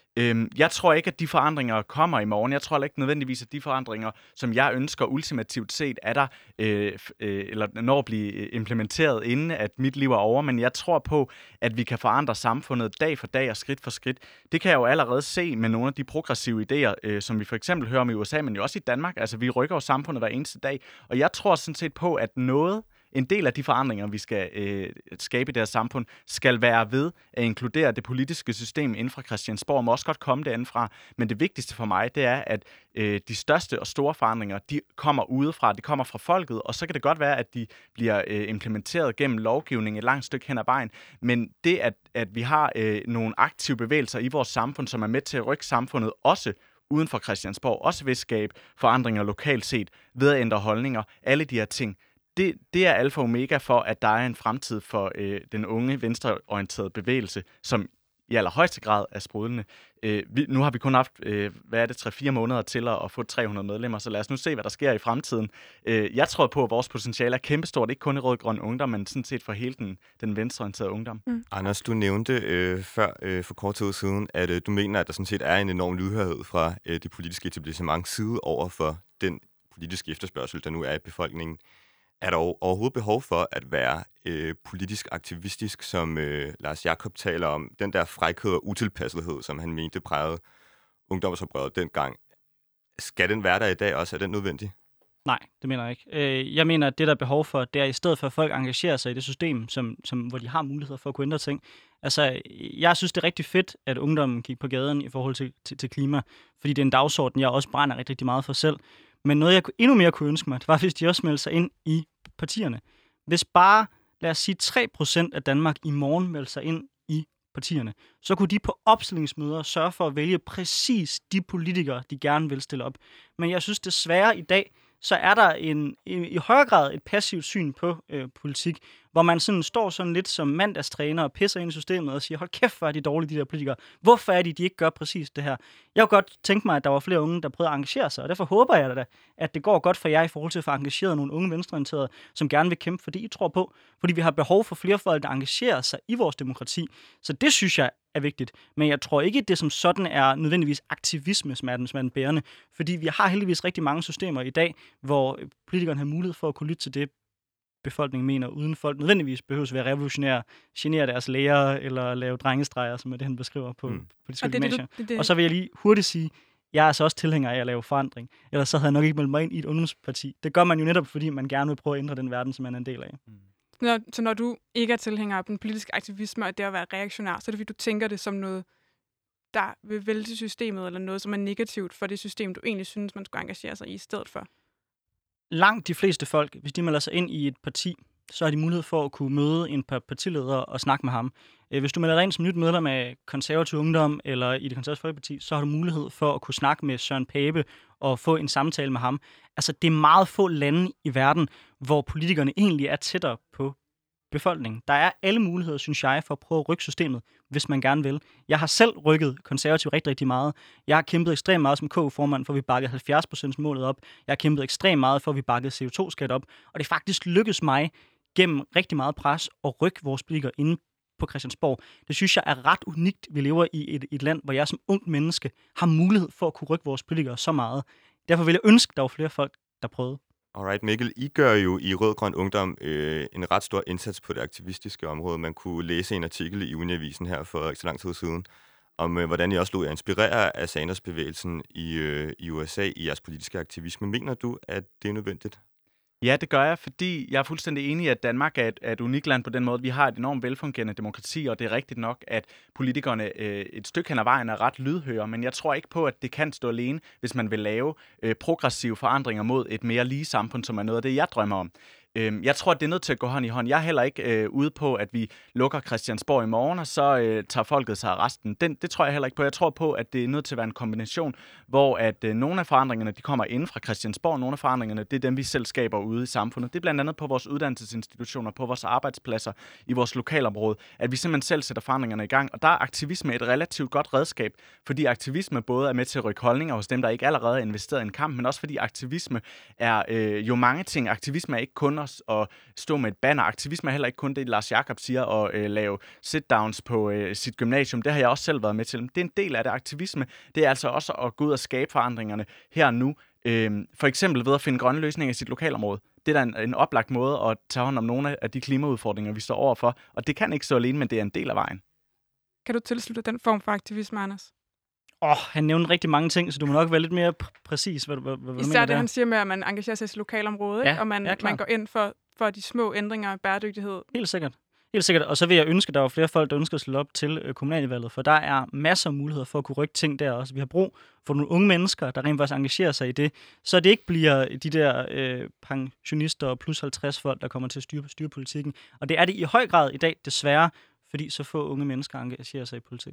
Jeg tror ikke, at de forandringer kommer i morgen. Jeg tror ikke nødvendigvis, at de forandringer, som jeg ønsker ultimativt set, er der, øh, øh, eller når at blive implementeret, inden at mit liv er over. Men jeg tror på, at vi kan forandre samfundet dag for dag og skridt for skridt. Det kan jeg jo allerede se med nogle af de progressive idéer, øh, som vi for eksempel hører om i U S A, men jo også i Danmark. Altså, vi rykker jo samfundet hver eneste dag. Og jeg tror sådan set på, at noget... En del af de forandringer, vi skal øh, skabe i deres samfund, skal være ved at inkludere det politiske system inden for Christiansborg, må også godt komme derindefra. Men det vigtigste for mig, det er, at øh, de største og store forandringer, de kommer udefra, de kommer fra folket, og så kan det godt være, at de bliver øh, implementeret gennem lovgivning et langt stykke hen ad vejen. Men det, at, at vi har øh, nogle aktive bevægelser i vores samfund, som er med til at rykke samfundet også uden for Christiansborg, også ved at skabe forandringer lokalt set, ved at ændre holdninger, alle de her ting, Det, det er alfa og omega for, at der er en fremtid for øh, den unge, venstreorienterede bevægelse, som i allerhøjeste grad er sprudlende. Øh, vi, nu har vi kun haft, øh, hvad er det, tre fire måneder til at, at få tre hundrede medlemmer, så lad os nu se, hvad der sker i fremtiden. Øh, jeg tror på, at vores potentiale er kæmpestort, ikke kun i Rød Grøn Ungdom, men sådan set for hele den, den venstreorienterede ungdom. Mm. Anders, du nævnte øh, før øh, for kort tid siden, at øh, du mener, at der sådan set er en enorm lydhørhed fra øh, det politiske etablissement side over for den politiske efterspørgsel, der nu er i befolkningen. Er der overhovedet behov for at være øh, politisk aktivistisk, som øh, Lars Jakob taler om? Den der frækhed og utilpassethed, som han mente prægede ungdomsoprøret dengang. Skal den være der i dag også? Er den nødvendig? Nej, det mener jeg ikke. Jeg mener, at det, der er behov for, det er i stedet for, at folk engagerer sig i det system, som, som, hvor de har muligheder for at kunne ændre ting. Altså, jeg synes, det er rigtig fedt, at ungdommen gik på gaden i forhold til, til, til klima, fordi det er en dagsorden, jeg også brænder rigtig, rigtig meget for selv. Men noget, jeg endnu mere kunne ønske mig, det var, hvis de også meldte sig ind i partierne. Hvis bare, lad os sige, tre procent af Danmark i morgen meldte sig ind i partierne, så kunne de på opstillingsmøder sørge for at vælge præcis de politikere, de gerne vil stille op. Men jeg synes desværre i dag, så er der en, i, i højere grad et passivt syn på øh, politik, hvor man sådan står sådan lidt som mandagstræner og pisser ind i systemet og siger, hold kæft, hvor er de dårlige, de der politikere. Hvorfor er de, de ikke gør præcis det her? Jeg kunne godt tænke mig, at der var flere unge, der prøvede at engagere sig, og derfor håber jeg da, at det går godt for jer i forhold til at få engageret nogle unge venstreorienterede, som gerne vil kæmpe for det, I tror på. Fordi vi har behov for flere folk, der engagerer sig i vores demokrati. Så det synes jeg er vigtigt. Men jeg tror ikke, at det som sådan er nødvendigvis aktivisme, som er den, som er den bærende. Fordi vi har heldigvis rigtig mange systemer i dag, hvor politikerne har mulighed for at kunne lytte til det, befolkningen mener, uden folk nødvendigvis behøves at være revolutionære, genere deres lærere eller lave drengestreger, som er det, han beskriver på, mm. på de gymnasier. Og så vil jeg lige hurtigt sige, jeg er altså også tilhænger af at lave forandring. Ellers så havde jeg nok ikke meldt mig ind i et ungdomsparti. Det gør man jo netop, fordi man gerne vil prøve at ændre den verden, som man er en del af. Mm. Når, så når du ikke er tilhænger af den politiske aktivisme og det at være reaktionær, så er det fordi, du tænker det som noget, der vil vælte systemet, eller noget, som er negativt for det system, du egentlig synes, man skulle engagere sig i i stedet for? Langt de fleste folk, hvis de melder sig ind i et parti, så har de mulighed for at kunne møde en partileder og snakke med ham. Hvis du melder dig ind som nyt medlem af Konservativ Ungdom eller i det Konservative Folkeparti, så har du mulighed for at kunne snakke med Søren Pape og få en samtale med ham. Altså, det er meget få lande i verden, hvor politikerne egentlig er tættere på befolkningen. Der er alle muligheder, synes jeg, for at prøve at rykke systemet, hvis man gerne vil. Jeg har selv rykket konservativ rigtig, rigtig meget. Jeg har kæmpet ekstremt meget som K U-formand, for at vi bakkede halvfjerds procent målet op. Jeg har kæmpet ekstremt meget, for at vi bakkede C O to skat op. Og det faktisk lykkedes mig gennem rigtig meget pres at rykke vores politikere inde på Christiansborg. Det synes jeg er ret unikt. Vi lever i et, et land, hvor jeg som ung menneske har mulighed for at kunne rykke vores politikere så meget. Derfor vil jeg ønske, at der var flere folk, der prøvede. Alright, Mikkel, I gør jo i Rød Grøn Ungdom øh, en ret stor indsats på det aktivistiske område. Man kunne læse en artikel i Uniavisen her for ikke så lang tid siden, om øh, hvordan I også lod jer inspirere af Sanders-bevægelsen i, øh, i U S A i jeres politiske aktivisme. Mener du, at det er nødvendigt? Ja, det gør jeg, fordi jeg er fuldstændig enig i, at Danmark er et, er et unikt land på den måde. Vi har et enormt velfungerende demokrati, og det er rigtigt nok, at politikerne øh, et stykke hen ad vejen er ret lydhøre, men jeg tror ikke på, at det kan stå alene, hvis man vil lave øh, progressive forandringer mod et mere lige samfund, som er noget af det, jeg drømmer om. Jeg tror, at det er nødt til at gå hånd i hånd. Jeg er heller ikke øh, ude på, at vi lukker Christiansborg i morgen, og så øh, tager folket sig af resten. Den, det tror jeg heller ikke på. Jeg tror på, at det er nødt til at være en kombination, hvor at øh, nogle af forandringerne, de kommer inden fra Christiansborg, og nogle af forandringerne, det er dem, vi selv skaber ude i samfundet. Det er blandt andet på vores uddannelsesinstitutioner, på vores arbejdspladser, i vores lokalområde, at vi simpelthen selv sætter forandringerne i gang. Og der er aktivisme et relativt godt redskab, fordi aktivisme både er med til at rykke holdninger hos dem, der ikke allerede er investeret i en kamp, men også fordi aktivisme er øh, jo mange ting. Aktivisme er ikke kun at stå med et banner. Aktivisme er heller ikke kun det, Lars Jakob siger, at øh, lave sit-downs på øh, sit gymnasium. Det har jeg også selv været med til. Det er en del af det. Aktivisme, det er altså også at gå ud og skabe forandringerne her og nu. Øh, for eksempel ved at finde grønne løsninger i sit lokalområde. Det er da en, en oplagt måde at tage hånd om nogle af de klimaudfordringer, vi står overfor. Og det kan ikke stå alene, men det er en del af vejen. Kan du tilslutte den form for aktivisme, Anders? Åh, oh, han nævnte rigtig mange ting, så du må nok være lidt mere pr- præcis, hvad, hvad, hvad du Især mener det, der. han siger med, at man engagerer sig i sit lokalområde, Ja, ikke? Og man, ja, man går ind for, for de små ændringer af bæredygtighed. Helt sikkert. Helt sikkert. Og så vil jeg ønske, at der var flere folk, der ønsker at slå op til øh, kommunalvalget, for der er masser af muligheder for at kunne rykke ting der også. Vi har brug for nogle unge mennesker, der rent faktisk engagerer sig i det, så det ikke bliver de der øh, pensionister og plus halvtreds folk, der kommer til at styre, styre politikken. Og det er det i høj grad i dag, desværre, fordi så få unge mennesker engagerer sig i politik.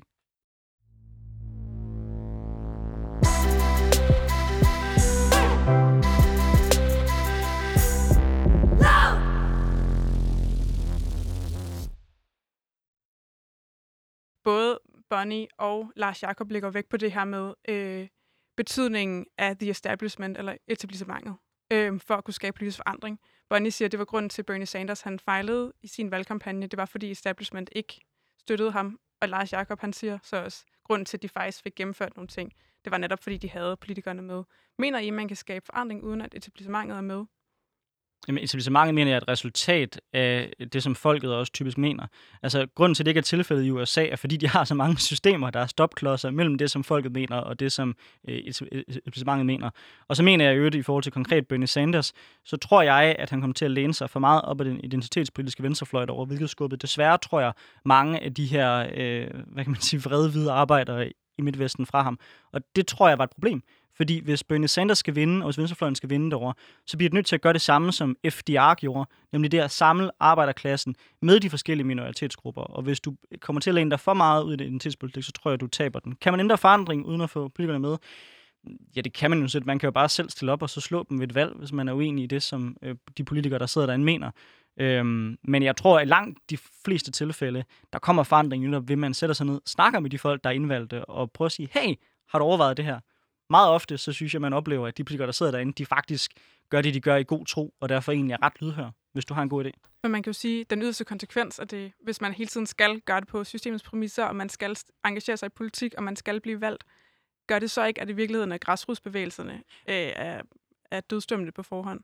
Både Bonnie og Lars Jakob lægger vægt på det her med øh, betydningen af the establishment, eller etablissementet, øh, for at kunne skabe politisk forandring. Bonnie siger, at det var grunden til, at Bernie Sanders han fejlede i sin valgkampagne. Det var, fordi establishment ikke støttede ham. Og Lars Jakob han siger så også, at grunden til, at de faktisk fik gennemført nogle ting, det var netop, fordi de havde politikerne med. Mener I, at man kan skabe forandring, uden at etablissementet er med? Jamen, etablissementet mener jeg er et resultat af det, som folket også typisk mener. Altså, grunden til, at det ikke er tilfældet i U S A, er, fordi de har så mange systemer, der er stopklodser mellem det, som folket mener, og det, som øh, etablissementet mener. Og så mener jeg jo, i forhold til konkret Bernie Sanders, så tror jeg, at han kommer til at læne sig for meget op ad den identitetspolitiske venstrefløj over, hvilket skubbet. Desværre tror jeg, mange af de her, øh, hvad kan man sige, vrede hvide arbejdere i Midtvesten fra ham. Og det tror jeg var et problem. Fordi hvis Bernie Sanders skal vinde, og hvis venstrefløjen skal vinde derovre, så bliver det nødt til at gøre det samme, som F D R gjorde, nemlig det at samle arbejderklassen med de forskellige minoritetsgrupper. Og hvis du kommer til at læne dig for meget ud i det identitetspolitik, så tror jeg, du taber den. Kan man ændre forandring uden at få politikerne med? Ja, det kan man jo sætte. Man kan jo bare selv stille op og så slå dem ved et valg, hvis man er uenig i det, som øh, de politikere, der sidder derinde, mener. Øhm, men jeg tror, at langt de fleste tilfælde, der kommer forandring, netop ved man sætter sig ned, snakker med de folk, der er indvalgte, og prøver at sige, hey, har du overvejet det her? Meget ofte, så synes jeg, man oplever, at de politikere, der sidder derinde, de faktisk gør det, de gør i god tro, og derfor egentlig er ret lydhør, hvis du har en god idé. Men man kan jo sige, at den yderste konsekvens af det, hvis man hele tiden skal gøre det på systemets præmisser, og man skal engagere sig i politik, og man skal blive valgt, gør det så ikke, at i virkeligheden af græsrodsbevægelserne øh, er, er dødsdømmende på forhånd?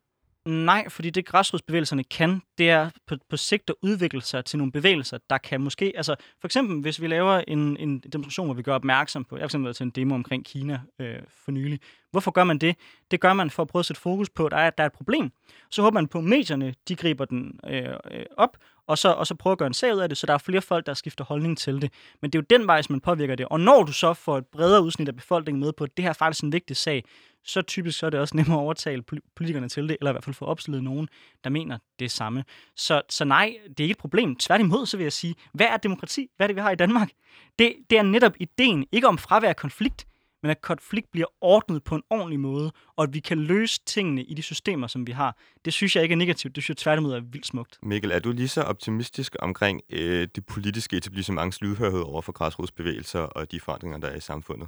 Nej, fordi det græsrodsbevægelserne kan, det er på, på sigt at udvikle sig til nogle bevægelser, der kan måske, altså for eksempel hvis vi laver en, en demonstration, hvor vi gør opmærksom på, jeg har for eksempel været til en demo omkring Kina øh, for nylig. Hvorfor gør man det? Det gør man for at prøve at sætte fokus på, at der er, der er et problem. Så håber man på, at medierne, de griber den øh, øh, op, og så, og så prøver at gøre en sag ud af det, så der er flere folk, der skifter holdning til det. Men det er jo den vej, som man påvirker det. Og når du så får et bredere udsnit af befolkningen med på, at det her er faktisk en vigtig sag, så typisk så er det også nemmere at overtale politikerne til det, eller i hvert fald få opstillet nogen, der mener det samme. Så, så nej, det er ikke et problem. Tværtimod, så vil jeg sige, hvad er demokrati? Hvad er det, vi har i Danmark? Det, det er netop ideen, ikke om fravær af konflikt, men at konflikt bliver ordnet på en ordentlig måde, og at vi kan løse tingene i de systemer, som vi har. Det synes jeg ikke er negativt, det synes jeg tværtimod er vildt smukt. Mikkel, er du lige så optimistisk omkring øh, det politiske etablissements lydhørhed over for græsrodsbevægelser og de forandringer, der er i samfundet?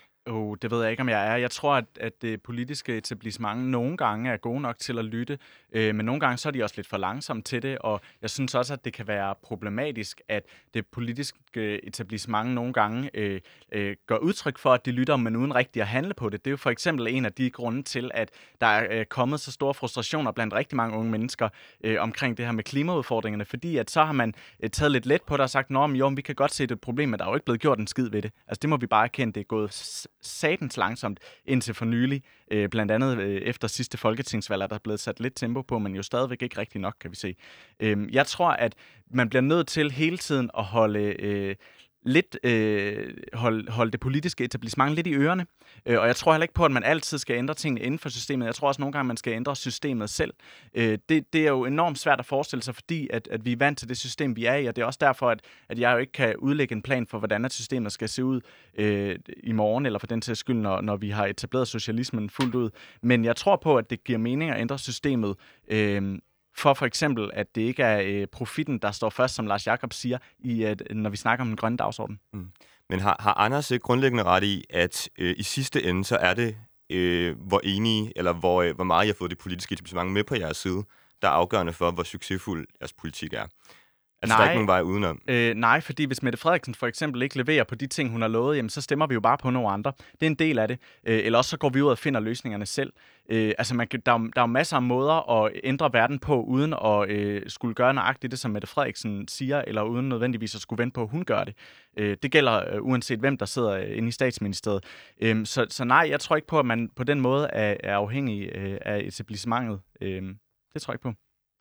Oh, det ved jeg ikke, om jeg er. Jeg tror, at, at det politiske etablissement nogle gange er gode nok til at lytte, øh, men nogle gange så er de også lidt for langsomme til det, og jeg synes også, at det kan være problematisk, at det politiske etablissement nogle gange øh, øh, gør udtryk for, at de lytter, men uden rigtig at handle på det. Det er jo for eksempel en af de grunde til, at der er øh, kommet så store frustrationer blandt rigtig mange unge mennesker øh, omkring det her med klimaudfordringerne, fordi at så har man øh, taget lidt let på det og sagt, nå, men jo, vi kan godt se det et problem, men der er jo ikke blevet gjort en skid ved det. Altså det må vi bare erkende, det er gået satans langsomt indtil for nylig. Øh, blandt andet øh, efter sidste folketingsvalg er der blevet sat lidt tempo på, men jo stadigvæk ikke rigtig nok, kan vi se. Øh, jeg tror, at man bliver nødt til hele tiden at holde... Øh, lidt øh, holde, holde det politiske etablissement lidt i ørerne. Øh, og jeg tror heller ikke på, at man altid skal ændre tingene inden for systemet. Jeg tror også nogle gange, man skal ændre systemet selv. Øh, det, det er jo enormt svært at forestille sig, fordi at, at vi er vant til det system, vi er i, og det er også derfor, at, at jeg jo ikke kan udlægge en plan for, hvordan at systemet skal se ud øh, i morgen, eller for den sags skyld, når, når vi har etableret socialismen fuldt ud. Men jeg tror på, at det giver mening at ændre systemet, øh, for for eksempel, at det ikke er øh, profitten, der står først, som Lars Jakob siger, i, at, når vi snakker om den grønne dagsorden. Mm. Men har, har Anders ikke grundlæggende ret i, at øh, i sidste ende, så er det, øh, hvor enige, eller hvor, øh, hvor meget I har fået det politiske etablissement med på jeres side, der er afgørende for, hvor succesfuld jeres politik er? Altså, nej, der er ikke nogen vej udenom. Øh, nej, fordi hvis Mette Frederiksen for eksempel ikke leverer på de ting, hun har lovet, jamen, så stemmer vi jo bare på nogle andre. Det er en del af det. Øh, eller også så går vi ud og finder løsningerne selv. Øh, altså, man, der, er, der er masser af måder at ændre verden på, uden at øh, skulle gøre nøjagtigt det, som Mette Frederiksen siger, eller uden nødvendigvis at skulle vente på, at hun gør det. Øh, det gælder øh, uanset hvem, der sidder øh, inde i statsministeriet. Øh, så, så nej, jeg tror ikke på, at man på den måde er, er afhængig øh, af etablissementet. Øh, det tror jeg ikke på.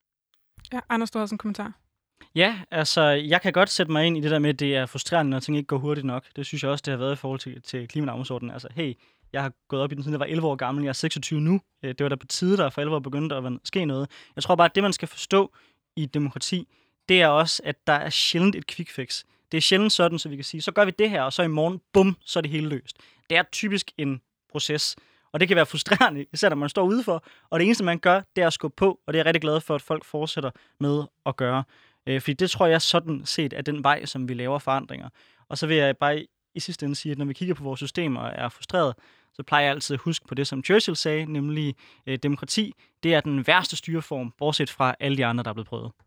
Ja, Anders, du har også en kommentar. Ja, altså, jeg kan godt sætte mig ind i det der med, at det er frustrerende, når ting ikke går hurtigt nok. Det synes jeg også, det har været i forhold til, til klimadagsordenen. Altså, hey, jeg har gået op i den, siden jeg var elleve år gammel, jeg er seksogtyve nu. Det var da på tide, der for alvor begyndte at ske noget. Jeg tror bare, at det, man skal forstå i et demokrati, det er også, at der er sjældent et quick fix. Det er sjældent sådan, så vi kan sige, så gør vi det her, og så i morgen, bum, så er det hele løst. Det er typisk en proces, og det kan være frustrerende, især når man står udenfor, og det eneste, man gør, det er at skubbe på, og det er jeg rigtig glad for, at folk fortsætter med at gøre. Fordi det tror jeg sådan set er den vej, som vi laver forandringer. Og så vil jeg bare i sidste ende sige, at når vi kigger på vores systemer og er frustreret, så plejer jeg altid at huske på det, som Churchill sagde, nemlig øh, demokrati. Det er den værste styreform, bortset fra alle de andre, der er blevet prøvet.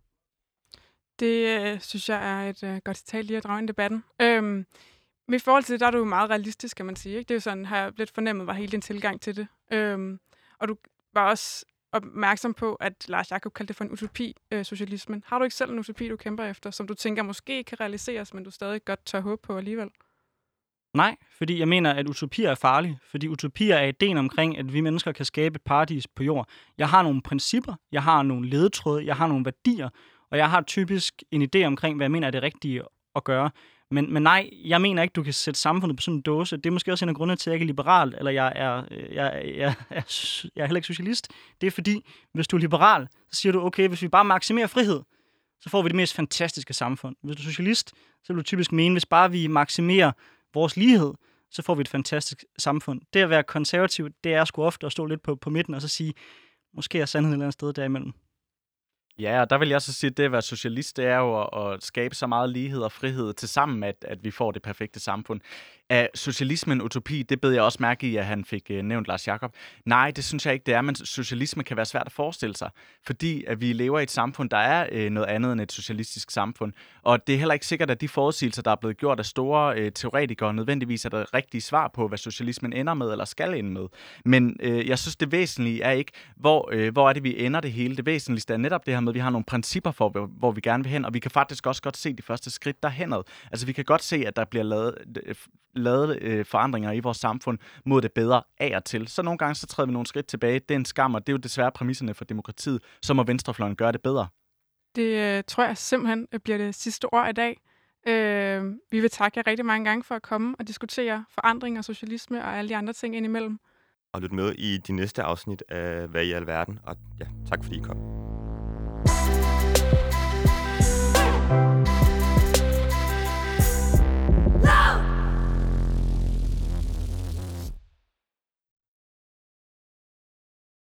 Det øh, synes jeg er et øh, godt citat lige at drage ind i debatten. Øhm, men i forhold til det, der er du meget realistisk, kan man sige. Ikke? Det er jo sådan, har jeg lidt fornemmet, var hele din tilgang til det. Øhm, og du var også opmærksom på, at Lars Jakob kaldte det for en utopi, øh, socialismen. Har du ikke selv en utopi, du kæmper efter, som du tænker måske kan realiseres, men du stadig godt tør håbe på alligevel? Nej, fordi jeg mener, at utopier er farlige. Fordi utopier er ideen omkring, at vi mennesker kan skabe et paradis på jord. Jeg har nogle principper, jeg har nogle ledetråde, jeg har nogle værdier, og jeg har typisk en idé omkring, hvad jeg mener er det rigtige at gøre. Men, men nej, jeg mener ikke, du kan sætte samfundet på sådan en dåse. Det er måske også en af grundene til, at jeg ikke er liberal, eller jeg er, jeg, jeg, jeg, er, jeg er heller ikke socialist. Det er fordi, hvis du er liberal, så siger du, okay, hvis vi bare maksimerer frihed, så får vi det mest fantastiske samfund. Hvis du er socialist, så vil du typisk mene, hvis bare vi maksimerer vores lighed, så får vi et fantastisk samfund. Det at være konservativ, det er sgu ofte at stå lidt på, på midten og så sige, måske er sandheden et eller andet sted derimellem. Ja, og der vil jeg så sige, at det at være socialist, det er jo at, at skabe så meget lighed og frihed til sammen, at, at vi får det perfekte samfund. Er socialisme en utopi? Det bed jeg også mærke i, at han fik øh, nævnt Lars Jakob. Nej, det synes jeg ikke, det er, men socialisme kan være svært at forestille sig, fordi at vi lever i et samfund, der er øh, noget andet end et socialistisk samfund. Og det er heller ikke sikkert, at de forudsigelser, der er blevet gjort af store øh, teoretikere, nødvendigvis er der rigtige svar på, hvad socialismen ender med eller skal ende med. Men øh, jeg synes, det væsentlige er ikke, hvor, øh, hvor er det, vi ender det hele. Det væsentligste er netop det her med, at vi har nogle principper for, hvor, hvor vi gerne vil hen, og vi kan faktisk også godt se de første skridt derhenad. Altså vi kan godt se, at der bliver lavet, lavet øh, forandringer i vores samfund mod det bedre af og til. Så nogle gange så træder vi nogle skridt tilbage. Det er en skam, og det er jo desværre præmisserne for demokratiet. Så må venstrefløjen gøre det bedre. Det øh, tror jeg simpelthen bliver det sidste ord i dag. Øh, vi vil takke jer rigtig mange gange for at komme og diskutere forandring og socialisme og alle de andre ting indimellem. Og lyt med i de næste afsnit af Hvad i alverden, og ja, tak fordi I kom.